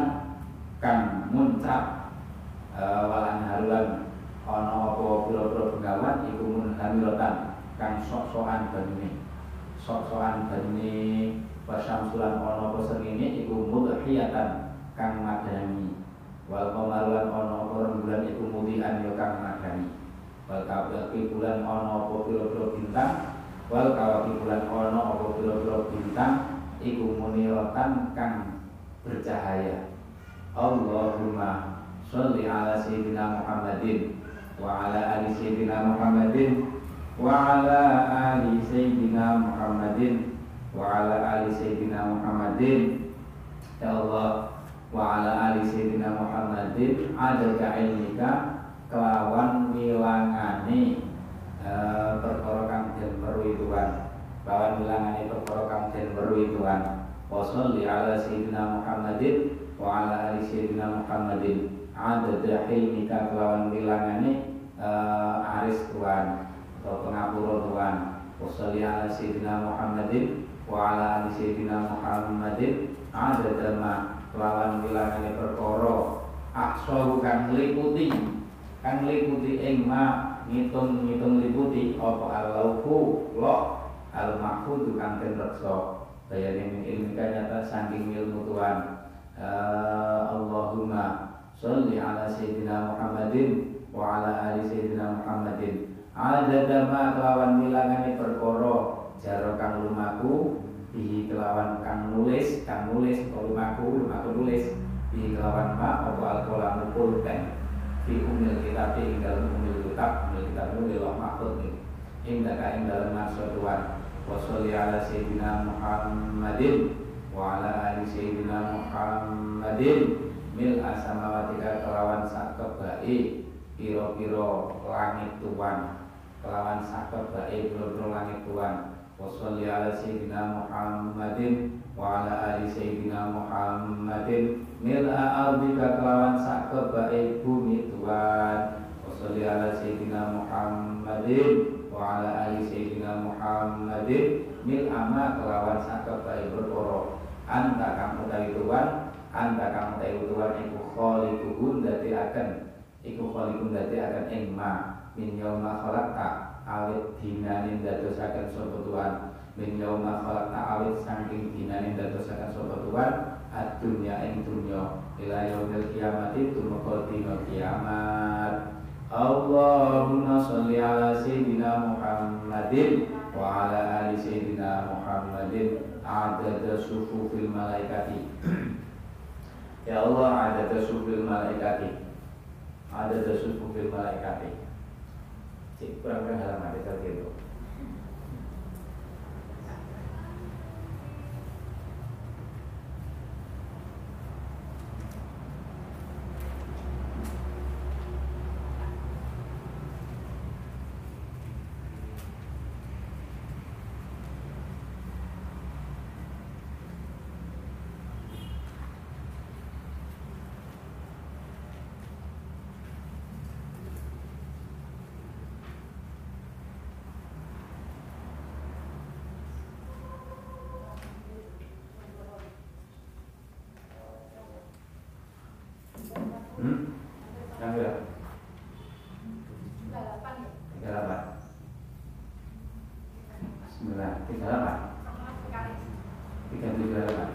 kang muncrat uh, walan harulan ana apa pira-pira bengawan iku munhamiratan kang sok-sokan banune sok-sokan banune wasyamsulan ana apa srengenge iku mudhiyatan kang madani wal qamarulan ana apa rembulan iku mudian ya kang madani wal kawaki bulan ana apa pira-pira bintang wal kawaki bulan ana apa pira-pira bintang iku muniratan kang bercahaya. Allahumma sholli ala sayyidina Muhammadin wa ala ali sayyidina Muhammadin wa ala ali sayyidina Muhammadin wa ala ali sayyidina Muhammadin ya Allah wa ala ali sayyidina Muhammadin adada ilmika kelawan wilangane e, perkara kang den weruhi Tuhan kelawan wilangane perkara kang den weruhi Tuhan wa sholli ala sayyidina Muhammadin wa ala ali sayyidina Muhammadin adada ilmika kelawan wilangane e, aris Tuhan atau pengapura Tuhan wa sholli ala sayyidina Muhammadin wa ala ali sayyidina Muhammadin adada ma kelawan wilangane perkara aksaru kang liputi kang liputi ing ma ngitung-ngitung liputi apa al-lauhu lo al-mahfudz kang den reksa bayane min ilmika nyata saking ilmu Tuhan. uh, Allahumma sholli ala sayyidina Muhammadin wa ala ali sayyidina Muhammadin adada ma kelawan wilangane perkara jaro kang lumaku di kelawan kang nulis kang nulis lumaku lumaku nulis di kelawan ma apa al-qalam pulpen di umil kitab ing dalam umil kitab umil kitab itu lewat mahfud ing daka ing dalam maksud Tuhan wa sholli ala sayyidina Muhammadin wa ala ali sayyidina Muhammadin mil asamawati kelawan sakebae pira-pira langit Tuhan kelawan sakebae pira-pira langit Tuhan wa sholli ala sayyidina Muhammadin wa ala ali sayyidina Muhammadin mil'a ardika kelawan sakebae bumi Tuhan wa sholli ala sayyidina Muhammadin wa ala ali sayyidina Muhammadin mil'a ma kelawan sakebae perkara anta kang utawi Tuhan anta kang utawi Tuhan iku khaliquhun dadi akan iku khaliqun dadi akan ing ma min yauma khalaqta awit dinanin dadosaken sapa Tuhan min yauma khalaqta awit saking dinanin dadosaken sapa Tuhan ad-dunya ing dunya ila yaumil kiamati tumeka dina kiamat. Allahumma sholli ala sayyidina Muhammadin wa ala ali sayyidina Muhammadin adada sufufil malaikati ya Allah adada sufufil malaikati adada sufufil malaikati cik kurang-kurang halaman itu gitu. Hmm? Yang berapa? tiga puluh delapan. Bismillah, tiga puluh delapan. tiga puluh delapan.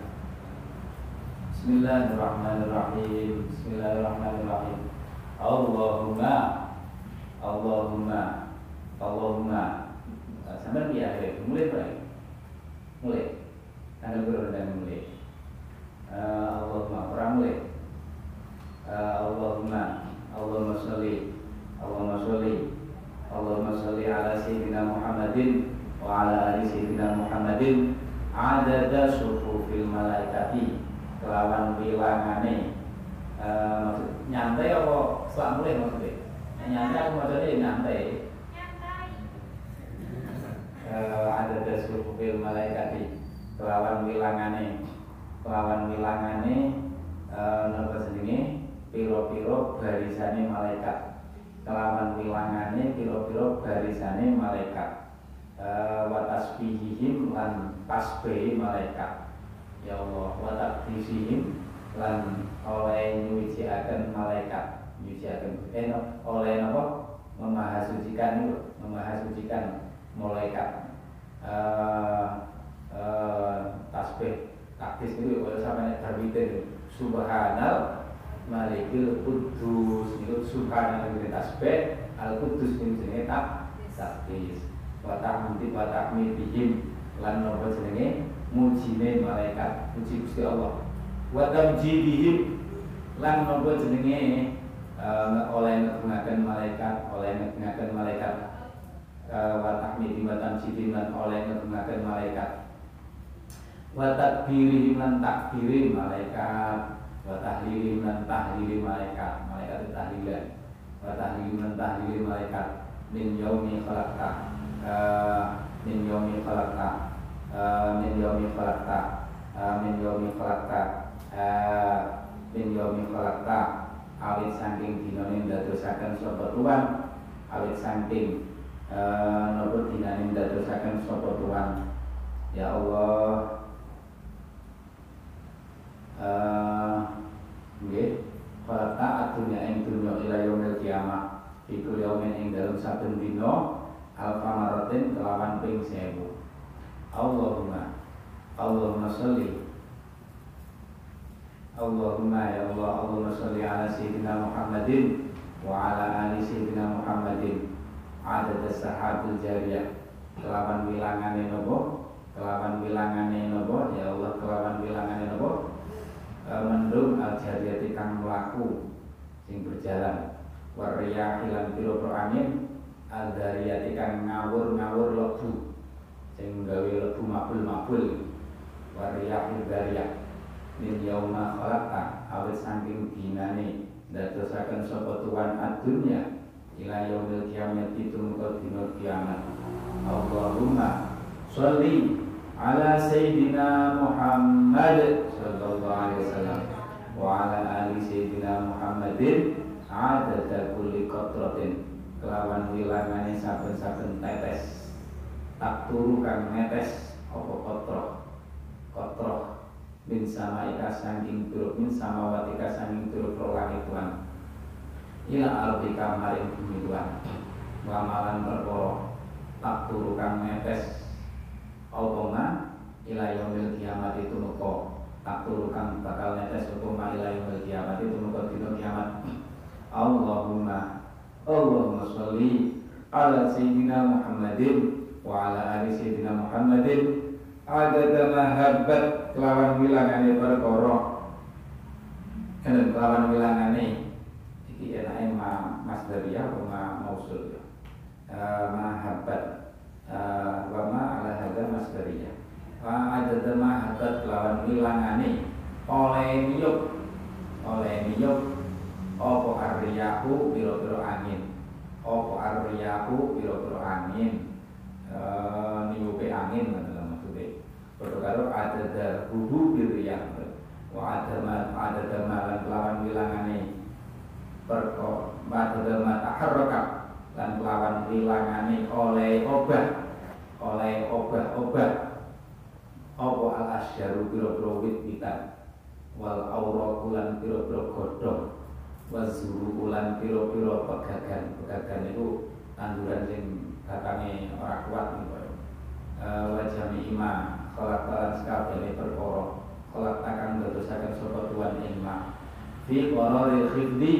Bismillahirrahmanirrahim. Bismillahirrahmanirrahim. Allahumma Allahumma Allahumma sampai di akhir mulai mulai mulai tanggal berapa dan mulai uh, Allahumma orang mulai Uh, Allahumma Allahumma sholli Allahumma sholli Allahumma sholli ala sayyidina Muhammadin wa ala ali sayyidina Muhammadin adada sufufil malaikati kelawan wilangane uh, maksud nyantai apa selak mulai maksudnya nyantai aku maksudnya nyantai uh, adada sufufil malaikati kelawan wilangane kelawan wilangane uh, napa jenenge piro-piro barisane malaikat kelawan wilangane piro-piro barisane malaikat e, wa tasbihihim lan tasbih malaikat ya Allah wa taqdisihim lan oleh nyuciaken malaikat nyuciaken eh oleh apa memahasucikan itu memahasucikan malaikat eh eh tasbih takdis itu kalau sampai terbitin subhanal malikil kudus itu subhanal itu tasbih al kudus itu jenenge takdis wa tahmidi wa tahmidihim lan nopo jenenge mujine malaikat puji Gusti Allah wa tamjidihim lan nopo jenenge uh, oleh ngegungaken malaikat oleh ngegungaken malaikat uh, wa tahmidi wa tamjidihim lan oleh ngegungaken malaikat wa takbirihim lan takbiri malaikat wa tahlilihim lan tahlili malaikat malaikat itu tahlilan wa tahlilihim lan tahlili malaikat min yaumi khalaqta uh, min yaumi khalaqta Uh, min yaumi khalaqta uh, min yaumi khalaqta uh, min yaumi khalaqta awit saking dinane ndadosaken sapa tuan awit saking uh, napa dinane ndadosaken sapa tuan ya Allah uh, nggih khalaqta adunya ing dunya ila yaumil kiamah iku yaumin ing dalem saben dina alfamaratin kelawan ping sewu Allahumma Allahumma sholli Allahumma ya Allah Allahumma sholli ala sayyidina Muhammadin wa ala ali sayyidina Muhammadin adad as-sahabil jariyah kelawan wilangane nopo kelawan wilangane nopo ya Allah kelawan wilangane nopo e, mendung al-jariyati kang mlaku sing berjalan wariyah lan pira-pira angin al-dariyati kang ngawur-ngawur lebu sing gawe lebu mabul-mabul wariyahil dariyah min yauma khalaqta awit saking dinane ndadosaken sapa tuan adunya ila yaumil qiyamati tumeka dina kiamat Allahumma sholli ala sayyidina Muhammad sallallahu alaihi wasallam wa ala ali sayyidina Muhammadin adada kulli qatratin kelawan wilangane saben-saben tetes tak turu kang netes apa kotroh kotroh min sama ika sangking turuk min sama watika sangking turuk langit Tuhan ila arbika maring bumi Tuhan wamalan perkara tak turu kang netes apa ma ila yaumil kiamat itu muka tak turu kang bakal netes apa ma ila yaumil kiamat itu muka dina kiamat Allahumma Allahumma sholli ala sayyidina Muhammadin wa ala ali sayyidina Muhammadin adada mahabbat kelawan wilangane perkara dan kelawan wilangane iki enake ma masdariyah wa mausul uh, mahabbat uh, wa ma ala hadza masdariyah wa adada mahabbat kelawan wilangane oleh niyup oleh niyup apa arriyahu pira-pira angin apa arriyahu pira-pira angin Uh, niupe angin dalam maksudnya pada karo ada darbuhu biriyah wa ada ada damalan kelawan wilangane perko ada damat taharrokat dan kelawan wilangane oleh obat oleh obat-obat apa al asyaru biro-biro wit-witan wal aurakulan biro-biro godhong wazuru ulan biro-biro pegagan pegagan itu tanduran sing katane ora kuat niku uh, wajami ima kholak talan sekabeh perkara kholak takang ndadosaken sapa tuan ing ma fi qararil khiddi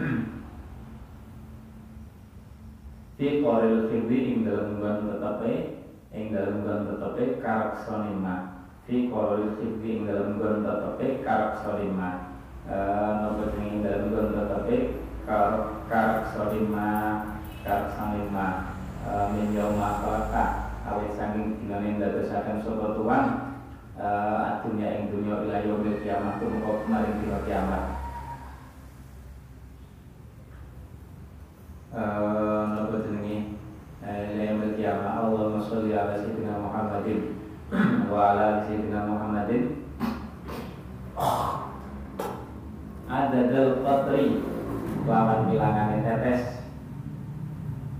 fi qararil khiddi ing dalem nggon tetepe ing dalem nggon tetepe karaksane ma fi qararil khiddi ing dalem nggon tetepe karaksane ma napa ing dalem nggon tetepe karaksane ma karaksane ma min yauma khalaqta awit saking dinane ndadosaken sapa tuan adunya ing dunya ila yaumil kiamah tumeka maring dina kiamat napa jenenge ila yaumil kiamah Allahumma sholli ala sayyidina Muhammadin wa ala sayyidina Muhammadin adadul qatri lawan bilangane tetes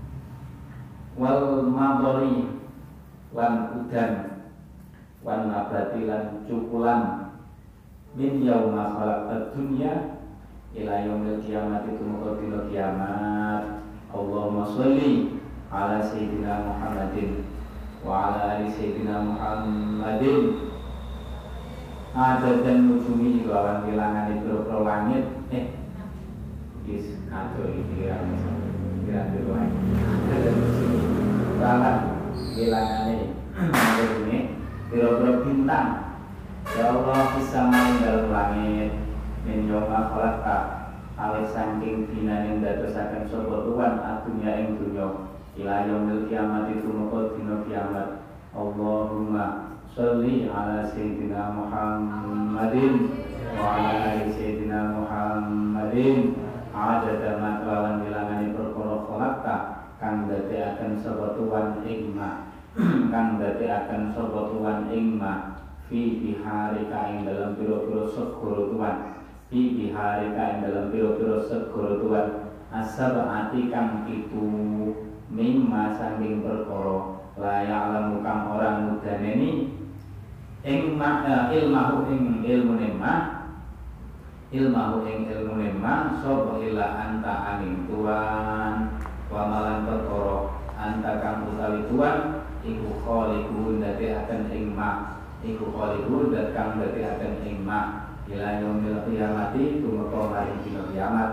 wal madori lan udan wan hisabati lan cukulan min yauma khalaqad dunya ila yaumil qiyamati tumeka dina kiamat. Allahumma sholli ala sayyidina Muhammadin wa ala ali sayyidina Muhammadin ada dan nujumi lawan bilangan itu pro langit eh is kado iki ya kira dulu ae ada dan nujumi lawan bilangane ini pira-pira bintang ya Allah bisa main dalam langit min yoma khalaqta awis saking dina ing dadosaken sapa tuan adunya ing dunya ila yaumil kiamat itu moko dina kiamat. Allahumma sholli ala sayyidina Muhammadin wa ala ali sayyidina Muhammadin adada ma kelawan bilangane perkara khalaqta kang dadekaken sapa tuan ing ma kang dadekaken sapa tuan ing ma fi biharika ing dalam pira-pira segara tuan fi biharika ing dalam pira-pira segara tuan asabati kang itu mimma saking perkara la ya'lamu kang orang mudaneni ing makna ilmahu ing ilmune ma ilmahu ing ilmune ma sapa ila anta aning tuan wa malan perkara anta kang utawi tuan iku khaliqun dadekaken ing ma iku khaliqun dat kang dadekaken ing ma ila yaumil qiyamati tumeka maring dina kiamat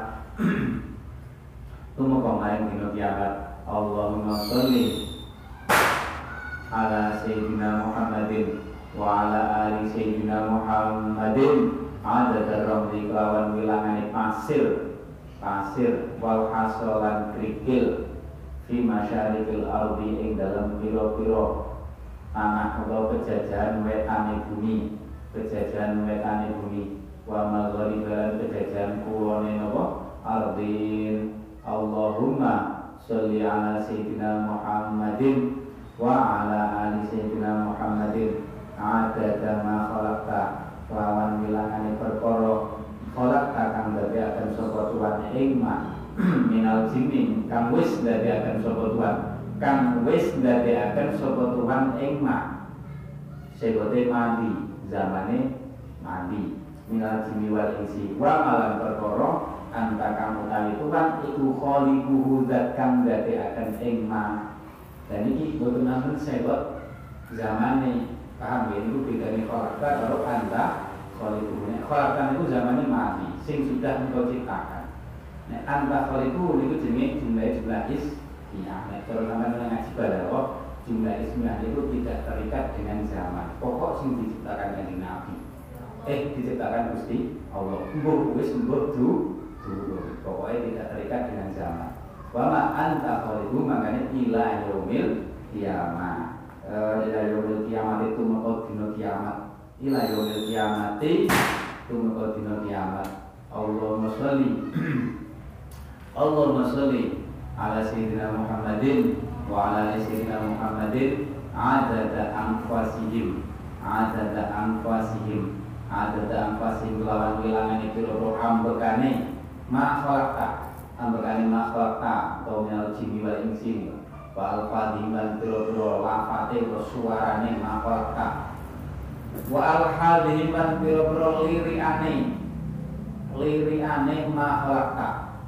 tumeka maring dina kiamat. Allahumma sholli ala sayyidina Muhammadin wa ala ali sayyidina Muhammadin adada ramli kelawan wilangane pasir pasir wal hasolan krikil fi masyarikil ardi ing dalam pira-pira tanah atau pejajahan wetane bumi pejajahan wetane bumi wa maghriban pejajahan kulone napa ardin. Allahumma sholli ala sayyidina Muhammadin wa ala ali sayyidina Muhammadin adada ma khalaqta lawan wilangane perkara khalaqta kang dadekaken sapa tuan ing ma minal jinni kang wis dadekaken sapa tuan kang wis dadekaken sapa tuan ing ma segote mandi zamane mandi minal jinni wal insi wa malan perkara anta kang utawi tuan iku khaliquhu zat kang dadekaken ing ma. Dan ini boten namun sebab zamane paham ya itu bedane khalaqta karo anta khaliquhu. Khalaqta itu zamane mati sing sudah engkau ciptakan. Nek anta khaliquhu niku jenenge jumlah-jumlah ismiyah. Nek cara sampeyan ngaji balaghah jumlah ismiyah itu tidak terikat dengan zaman. Pokok sing diciptakan kanjeng Nabi. Eh diciptakan Gusti Allah. Mbuh wis mbuh du pokoknya tidak terikat dengan zaman. Wama anta khaliquhu makanya ila yaumil kiamat. Ila yaumil kiamat itu meko dina kiamat. Ila yaumil kiamati itu meko dina kiamat. Allahumma sholli Allahumma sholli ala sayyidina Muhammadin wa ala sayyidina Muhammadin adada anfasihim adada anfasihim adada anfasihim lawan wilangane pira-pira ambekane ma khalaqta ambekane ma khalaqta atau minal jinni wal insi wa al-fadhim lan pira-pira lafate utawa suarane ma khalaqta wa al-hadhim lan pira-pira liriane liriane ma khalaqta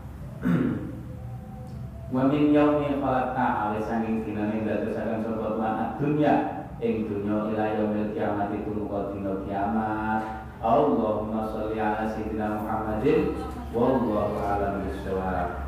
wa min yaumi khalaqta awis saking dinane dadosaken sapa tuan dunya ing dunya ila yaumil kiamat itu muka dina kiamat. Allahumma sholli ala sayyidina Muhammadin wallahu a'lam bissawab.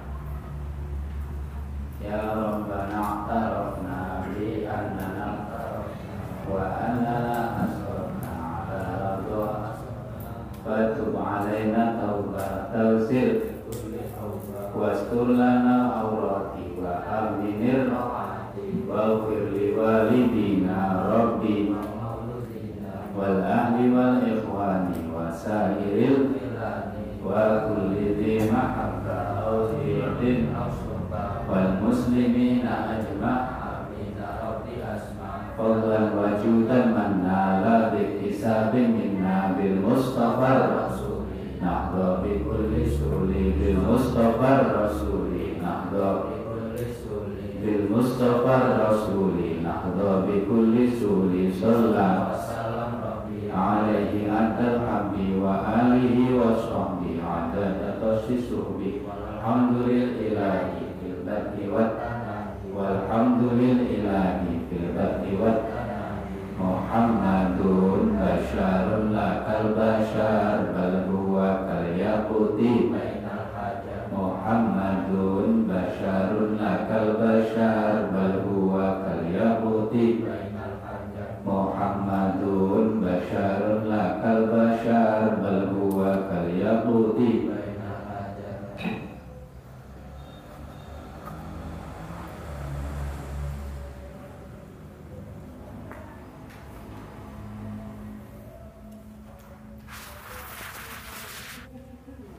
Ya Rabbana a'tarafna bi annana wa annana asrafna ala radha fatub alaina tauba tawsir wastur lana awrati wa aminir wa firli walidina rabbi wal ahli wal ikhwani wa sairil wa kulli dhi mahabba awzidin wal muslimina ajma' fadlan wa judan man nala bi hisabin minna bil mustafa rasuli nahda bi kulli suli bil mustafa rasuli nahda bi kulli suli bil mustafa rasuli nahda bi kulli suli sallallahu alaihi adal hamdi wa alihi wa sahbihi adada tasisuhbi walhamdulil ilahi fil badhi wat walhamdulil ilahi fil badhi wat